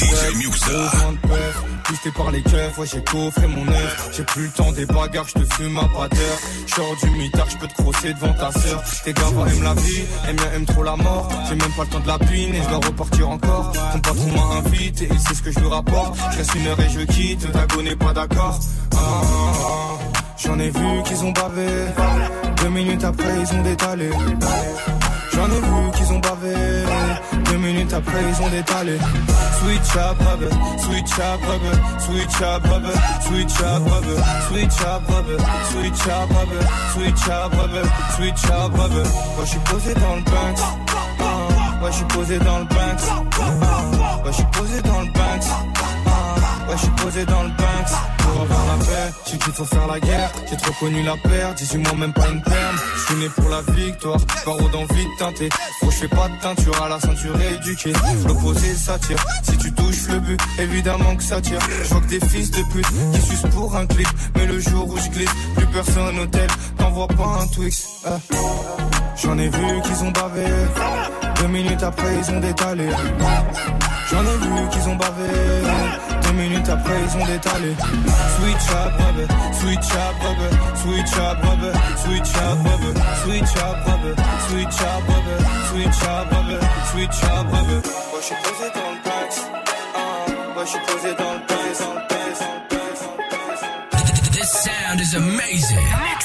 club, pisté par les keufs, ouais j'ai coffré mon œuf. J'ai plus le temps des bagarres, je te fume à pas d'heure. J'sors du mitard, je peux te crosser devant ta sœur. Tes gars aiment la vie, les miens aiment trop la mort. J'ai même pas le temps de la pine et je dois repartir encore. Ton patron m'a invité et il sait ce que je lui rapporte. Je reste une heure et je quitte, Dago n'est pas d'accord. Ah, ah, ah. J'en ai vu qu'ils ont bavé. Deux minutes après ils ont détalé. J'en ai vu qu'ils ont bavé. Deux minutes après ils ont détalé. Switch up rubber, switch up rubber, switch up rubber, switch up rubber, switch up rubber, switch up rubber, switch up rubber, switch up rubber. Moi je suis posé dans le Banks. Ouais je suis posé dans le Banks. Ouais je suis posé dans le Banks. Ouais je suis posé dans le Banks. Pour avoir la paix, je sais qu'il faut faire la guerre. J'ai trop connu la perte, dix-huit mois même pas une perme. Je suis né pour la victoire, paro d'envie de teinter. Faut je fais pas de teinture à la ceinture éduquée. L'opposé ça tire, si tu touches le but, évidemment que ça tire. Je vois que des fils de pute qui sucent pour un clip. Mais le jour où je glisse, plus personne au tel, t'envoies pas un Twix. euh. J'en ai vu qu'ils ont bavé. Deux minutes après ils ont détalé. J'en ai vu qu'ils ont bavé. Deux minutes après ils ont détalé. Switch up rubber, switch up rubber, switch up rubber, switch up rubber, switch up rubber, switch up rubber, switch up rubber, switch up rubber. Moi je suis posé dans le Banks. Moi je suis posé dans le Banks, dans le Banks, dans le Banks.
This sound is amazing.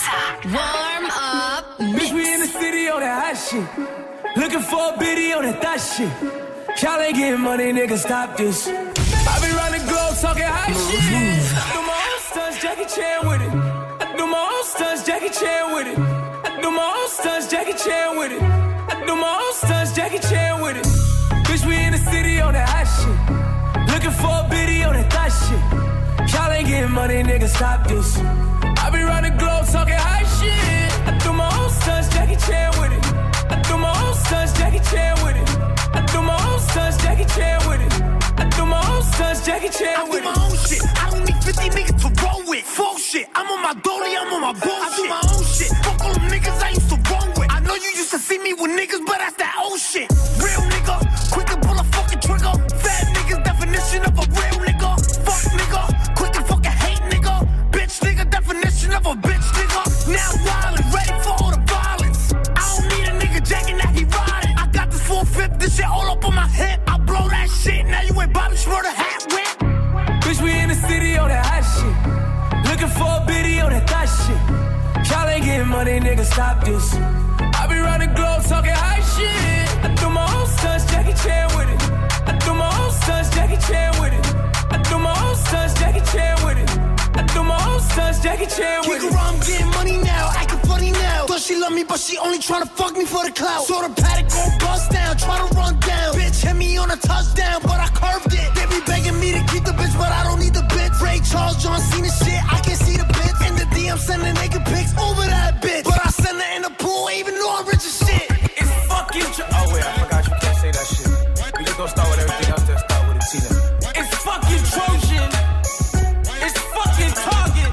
Warm up
Bitch, we in the city on that hot shit. Looking for a biddy on that thot shit. Y'all ain't getting money, nigga, stop this. I been round the globe talking hot shit. I do my own stunts, Jackie Chan with it. I do my own stunts, Jackie Chan with it. I do my own stunts, Jackie Chan with it. I do my own stunts, Jackie Chan with it. Bitch, we in the city on that hot shit. Looking for a biddy on that thot shit. Y'all ain't getting money, nigga, stop this. I be round the globe talking high shit. I threw my own sons Jackie Chan with it. I threw my own sons Jackie Chan with it. I threw my own sons Jackie Chan with it. I threw my own sons Jackie Chan
I
with
do
it.
my own shit. I don't need fifty niggas to roll with. Full shit. I'm on my dolly, I'm on my bullshit. I do my own shit. Fuck all them niggas I used to roll with. I know you used to see me with niggas, but that's that old shit. Real nigga, quick to pull a fucking trigger. Fat niggas, definition of a real nigga. Fuck nigga, quick to fucking hate nigga. Bitch nigga, definition of a bitch nigga. Now wildin', ready for all the violence. I don't need a nigga jacking that he riding. I got this four fifth, this shit all up on my hip. I blow that shit, now you ain't Bobby Schmurder hat whip.
Bitch, we in the city on that hot shit. Looking for a biddy on that thot shit. Y'all ain't getting money, nigga, stop this. I be round the globe talking high shit. I threw my own sons Jackie Chan with it. I threw my own sons Jackie Chan with it. I threw my own sons Jackie Chan with it. I threw my own sons Jackie Chan with
Kick
it.
around, I'm getting money now, acting funny now. Thought she love me, but she only tryna fuck me for the clout. Saw the paddock go bust down, tryna run down. Bitch hit me on a touchdown, but I curved it. They be begging me to keep the bitch, but I don't need the bitch. Ray Charles, John Cena shit, I can see the bitch. In the D M sending naked pics over that bitch. But I send her in the pool, even though I'm rich as shit.
It's fucking tr- Oh wait, I forgot you can't say that shit. We just gonna start with everything else, then start with a Tina. It's fucking Trojan. It's fucking Target.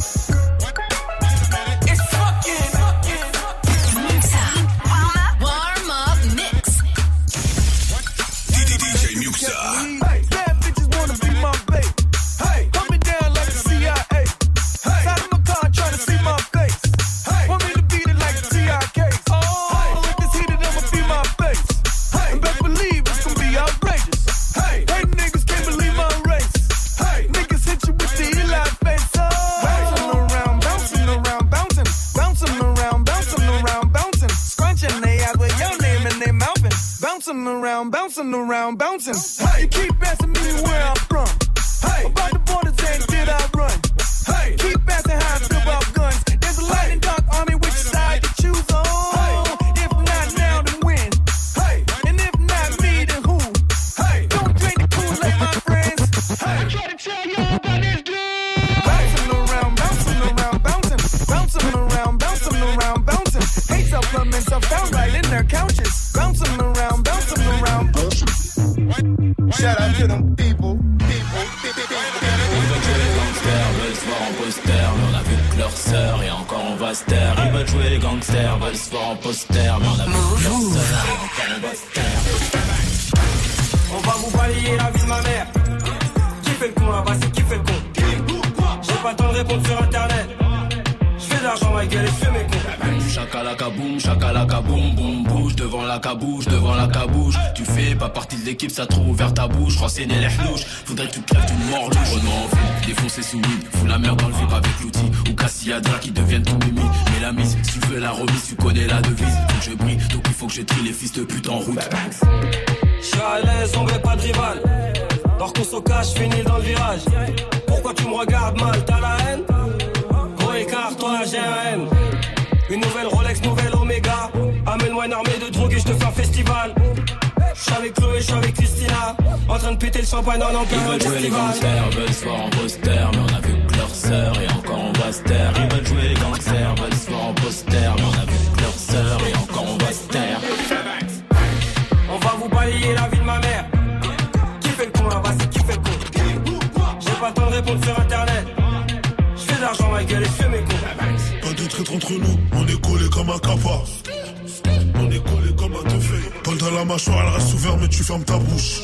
It's fucking, fucking, fucking.
Warm up mix.
D J Muxa.
Hey, bad bitches wanna be my babe. Hey, coming down like the C I A. Hey, side of my car trying to see my face. Hey, want me to beat it like the T I Ks. Oh, if it's heated, I'ma be my face. Hey, and best believe it's gonna be outrageous. Hey, hey, niggas can't believe my race. Hey, niggas hit you with the Eli face. Oh, bouncing around, bouncing around, bouncing, bouncing around, bouncing around, bouncing, scrunching they eyes with your name in their mouthing, bouncing around, bouncing around, bouncing. Hey, you keep asking me where I'm from. Hey, about the borders and did I run? Hey, keep asking how I feel about guns. There's a light and dark army, which side to choose on? Hey, if not now, then when? Hey, and if not me, then who? Hey, don't drink the Kool-Aid, my friends. Hey, I try to tell you about this dude. Bouncing around, bouncing around, bouncing, bouncing around, bouncing around, bouncing. Hate supplements are found right in their couches. Bouncing around, bouncing around, bouncing.
Shout out to them people.
Ils veulent jouer les gangsters, veulent se voir en poster, mais on a vu que leur sœur et encore on va se taire. Ils veulent jouer les gangsters, veulent se voir en poster, mais on a vu que leur sœur et encore on va se taire.
On va vous balayer la vie de ma mère. Qui fait le con là-bas, c'est qui fait le con? J'ai pas le temps de répondre sur internet. J'fais de l'argent ma gueule et j'fais mes cons.
Chakalaka boum, chakalaka boum, boum, bouge devant la cabouche, devant la cabouche. Tu fais pas partie de l'équipe, ça trop ouvert ta bouche. Renseigner les louches, faudrait que tu te crèves d'une mort louche. Renaud en ville, défoncer sous weed, fous la merde dans le vip avec l'outil. Ou Cassiadra qui deviennent ton mimi. Mais la mise, si tu veux la remise, tu connais la devise. Faut que je brille, donc il faut que je trie les fils de pute en route.
J'suis à l'aise, on veut pas de rival. Dors qu'on se cache, finis dans le virage. Pourquoi tu me regardes mal, t'as la haine? Gros écart, toi j'ai un M. Une nouvelle Rolex, nouvelle Omega. Amène-moi une armée de drogue et je te fais un festival. J'suis avec Chloé, j'suis avec Christina. En train de péter le champagne en
Ils
encore un
veulent jouer les
festival.
gangsters, veulent se voir en poster, mais on a vu que leur sœur et encore on va se taire. Ils veulent jouer les gangsters, veulent se voir en poster, mais on a vu que leur sœur et encore on va se taire.
On va vous balayer la vie de ma mère. Qui fait le con là-bas, c'est qui fait le con? J'ai pas le temps de répondre sur internet. J'fais de l'argent ma gueule et j'fais mes cons.
Pas de traître entre nous, on est collé comme un capa. On est collé comme un teufé. Paul dans la mâchoire, elle reste ouverte, mais tu fermes ta bouche.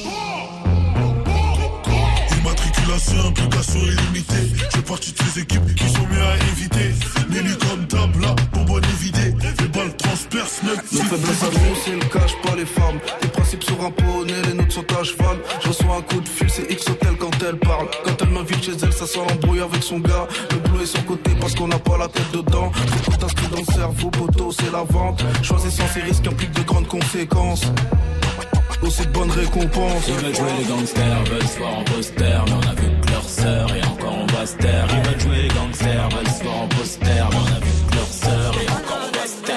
Immatriculation, implication illimitée. Je fais partie de ces équipes qui sont mieux à éviter. Nelly comme tabla, bonbonne évidée. Les balles transpercent même.
Nos faiblesses à nous, c'est le cache pas les femmes. Les principes sont un poney, les nôtres sont à cheval. Je reçois un coup de fil, c'est X Hotel quand elle parle. Quand elle m'invite chez elle, ça sent l'embrouille avec son gars. Le boulot est son côté parce qu'on n'a pas la tête dedans. Trop tout inscrit dans le cerveau, poteau, c'est la vente. Choisissant ces risques implique de grandes conséquences. Aussi de bonnes récompenses.
Ils veulent jouer les gangsters, veulent se voir en poster, mais on a vu que leur sœur et encore on va se taire. Ils veulent jouer les gangsters, veulent se voir en poster, mais on a vu que leur sœur et encore on va se taire.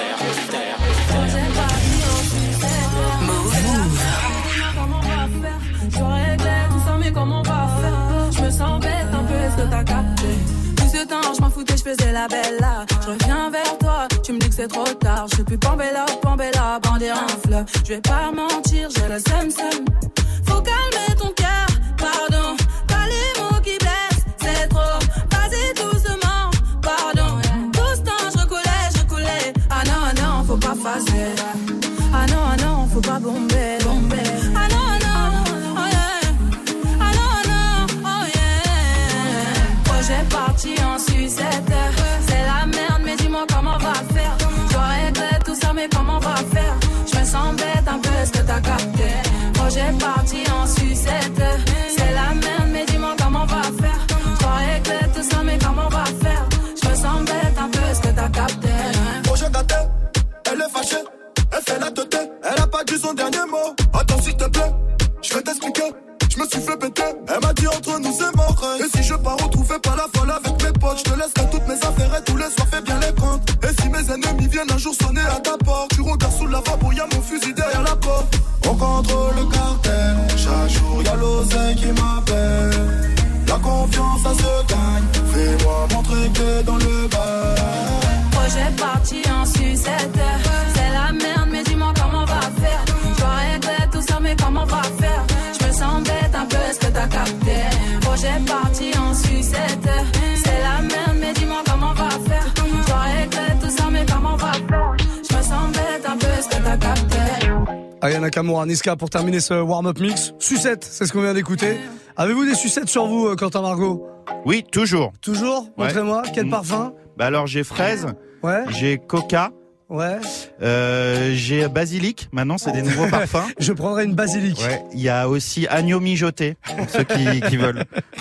Je règle tout ça, mais comment on va faire? Je me sens bête un peu, est-ce que t'as capté? Tu sais temps, je m'en foutais, je faisais la belle là. Je reviens vers toi, tu me dis que c'est trop tard. Je suis plus Pambella, Pambella, bandé en fleur. Je vais pas mentir, j'ai le seum seum. Faut calmer ton cœur, pardon. Pas les mots qui blessent, c'est trop. Vas-y doucement, pardon. Tout ce temps, je recoulais, je recoulais. Ah non, ah non, faut pas passer. Ah non, ah non, faut pas bomber, bomber. Ah non, ah non, oh yeah. Ah non, ah non, oh yeah. Projet parti en sucette. C'est la merde, mais dis-moi comment on va faire. Je regrette tout ça, mais comment on va faire. Je me sens bête un peu, est-ce que t'as capté? Projet parti en sucette. C'est la merde, mais dis-moi comment on va faire. Je regrette tout ça, mais comment on va faire. Je me sens bête un peu, est-ce que t'as capté?
Projet gâté, elle est fâchée. Elle fait la tête, elle a pas dit son dernier mot. Attends s'il te plaît, je vais t'expliquer. Je me suis fait péter, elle m'a dit entre nous c'est mort. Et si je pars retrouver pas la folle avec mes potes, je te laisserai toutes mes affaires et tous les soirs fais bien les comptes. Et si mes ennemis viennent un jour sonner à ta porte, tu regardes sous le lavabo, y'a mon fusil derrière la porte. On contrôle le cartel, chaque jour y'a l'oseille qui m'appelle. La confiance ça se gagne, fais-moi montrer que dans le bar.
Projet parti en sucette. C'est la merde, mais dis-moi comment on va faire. Je regrette tout ça, mais comment on va faire. Je me sens bête un peu, est-ce que t'as capté? Projet parti en sucette. C'est la merde, mais dis-moi comment on va faire. Je regrette tout ça, mais comment on va faire. Je me sens bête un peu, est-ce que t'as capté?
Aya Nakamura, Niska pour terminer ce warm-up mix. Sucette, c'est ce qu'on vient d'écouter. Avez-vous des sucettes sur vous, Quentin Margot?
Oui, toujours.
Toujours? Montrez-moi,
ouais.
quel parfum?
Bah alors j'ai fraise,
ouais.
J'ai coca,
ouais.
euh, j'ai basilic, maintenant c'est des nouveaux parfums.
Je prendrai une basilic.
Ouais. Il y a aussi agneau mijoté, pour ceux qui, qui veulent.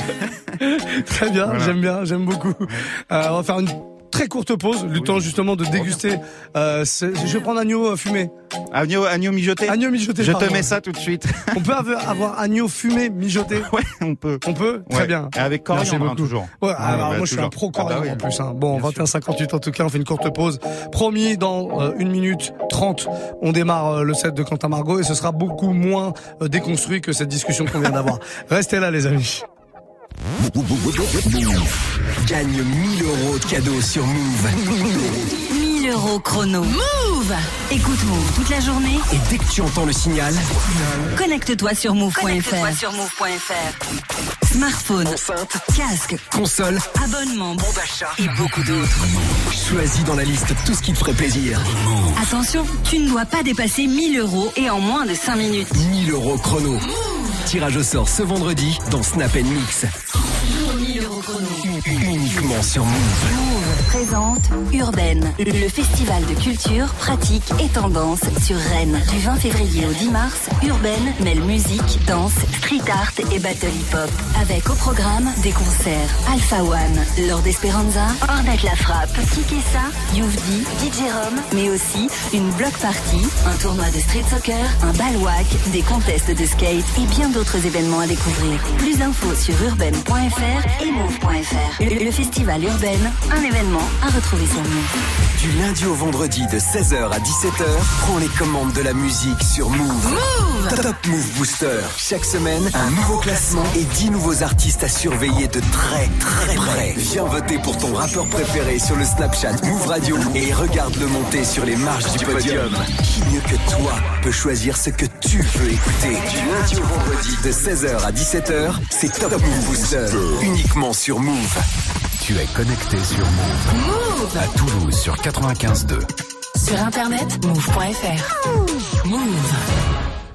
Très bien,
voilà.
J'aime bien, j'aime beaucoup. Euh, on va faire une très courte pause, le oui. temps justement de déguster. Euh, je vais prendre agneau fumé.
Agneau, agneau mijoté.
Agneau mijoté.
Je
pardon.
te mets ça tout de suite.
On peut avoir agneau fumé mijoté.
Ouais, on peut.
On peut. Très
ouais.
bien.
Et avec coriandre hein, toujours.
Ouais.
ouais
alors
bah,
moi je suis un pro coriandre ah bah oui, en plus. Hein. Bon, vingt et un cinquante-huit en tout cas, on fait une courte pause. Promis, dans euh, une minute trente, on démarre euh, le set de Quentin Margot et ce sera beaucoup moins euh, déconstruit que cette discussion qu'on vient d'avoir. Restez là, les amis.
Gagne mille euros de cadeaux sur Move.
mille euros chrono. Move! Écoute Move toute la journée.
Et dès que tu entends le signal,
connecte-toi sur move point f r. Connecte-toi sur move point f r. Smartphone,
enceinte,
casque,
console,
abonnement,
bon d'achat
et beaucoup d'autres.
Choisis dans la liste tout ce qui te ferait plaisir.
Attention, tu ne dois pas dépasser mille euros et en moins de cinq minutes.
mille euros chrono. Move. Tirage au sort ce vendredi dans Snap and Mix.
mille euros chrono.
Uniquement sur Move.
Move présente Urbaine, le festival de culture, pratique et tendance sur Rennes. Du vingt février au dix mars, Urbaine mêle musique, danse, street art et battle hip-hop. Avec au programme des concerts Alpha One, Lord Esperanza, Ornette La Frappe, Kikessa, Youvdi, D J Rom, mais aussi une block party, un tournoi de street soccer, un balwak, des contests de skate et bien d'autres événements à découvrir. Plus d'infos sur urbaine point f r et move point f r. Le festival Urbaine, un événement à retrouver sur Move.
Du lundi au vendredi de seize heures à dix-sept heures, prends les commandes de la musique sur Move.
Move!
Top Move Booster. Chaque semaine, un nouveau classement et dix nouveaux artistes à surveiller de très très près. Viens voter pour ton rappeur préféré sur le Snapchat Move Radio et regarde-le monter sur les marches du podium. Qui mieux que toi peut choisir ce que tu veux écouter? Du lundi au vendredi de seize heures à dix-sept heures, c'est Top Move Booster. Uniquement sur Move.
Tu es connecté sur Move.
Move!
À Toulouse sur quatre-vingt-quinze deux.
Sur internet, move point f r. Move.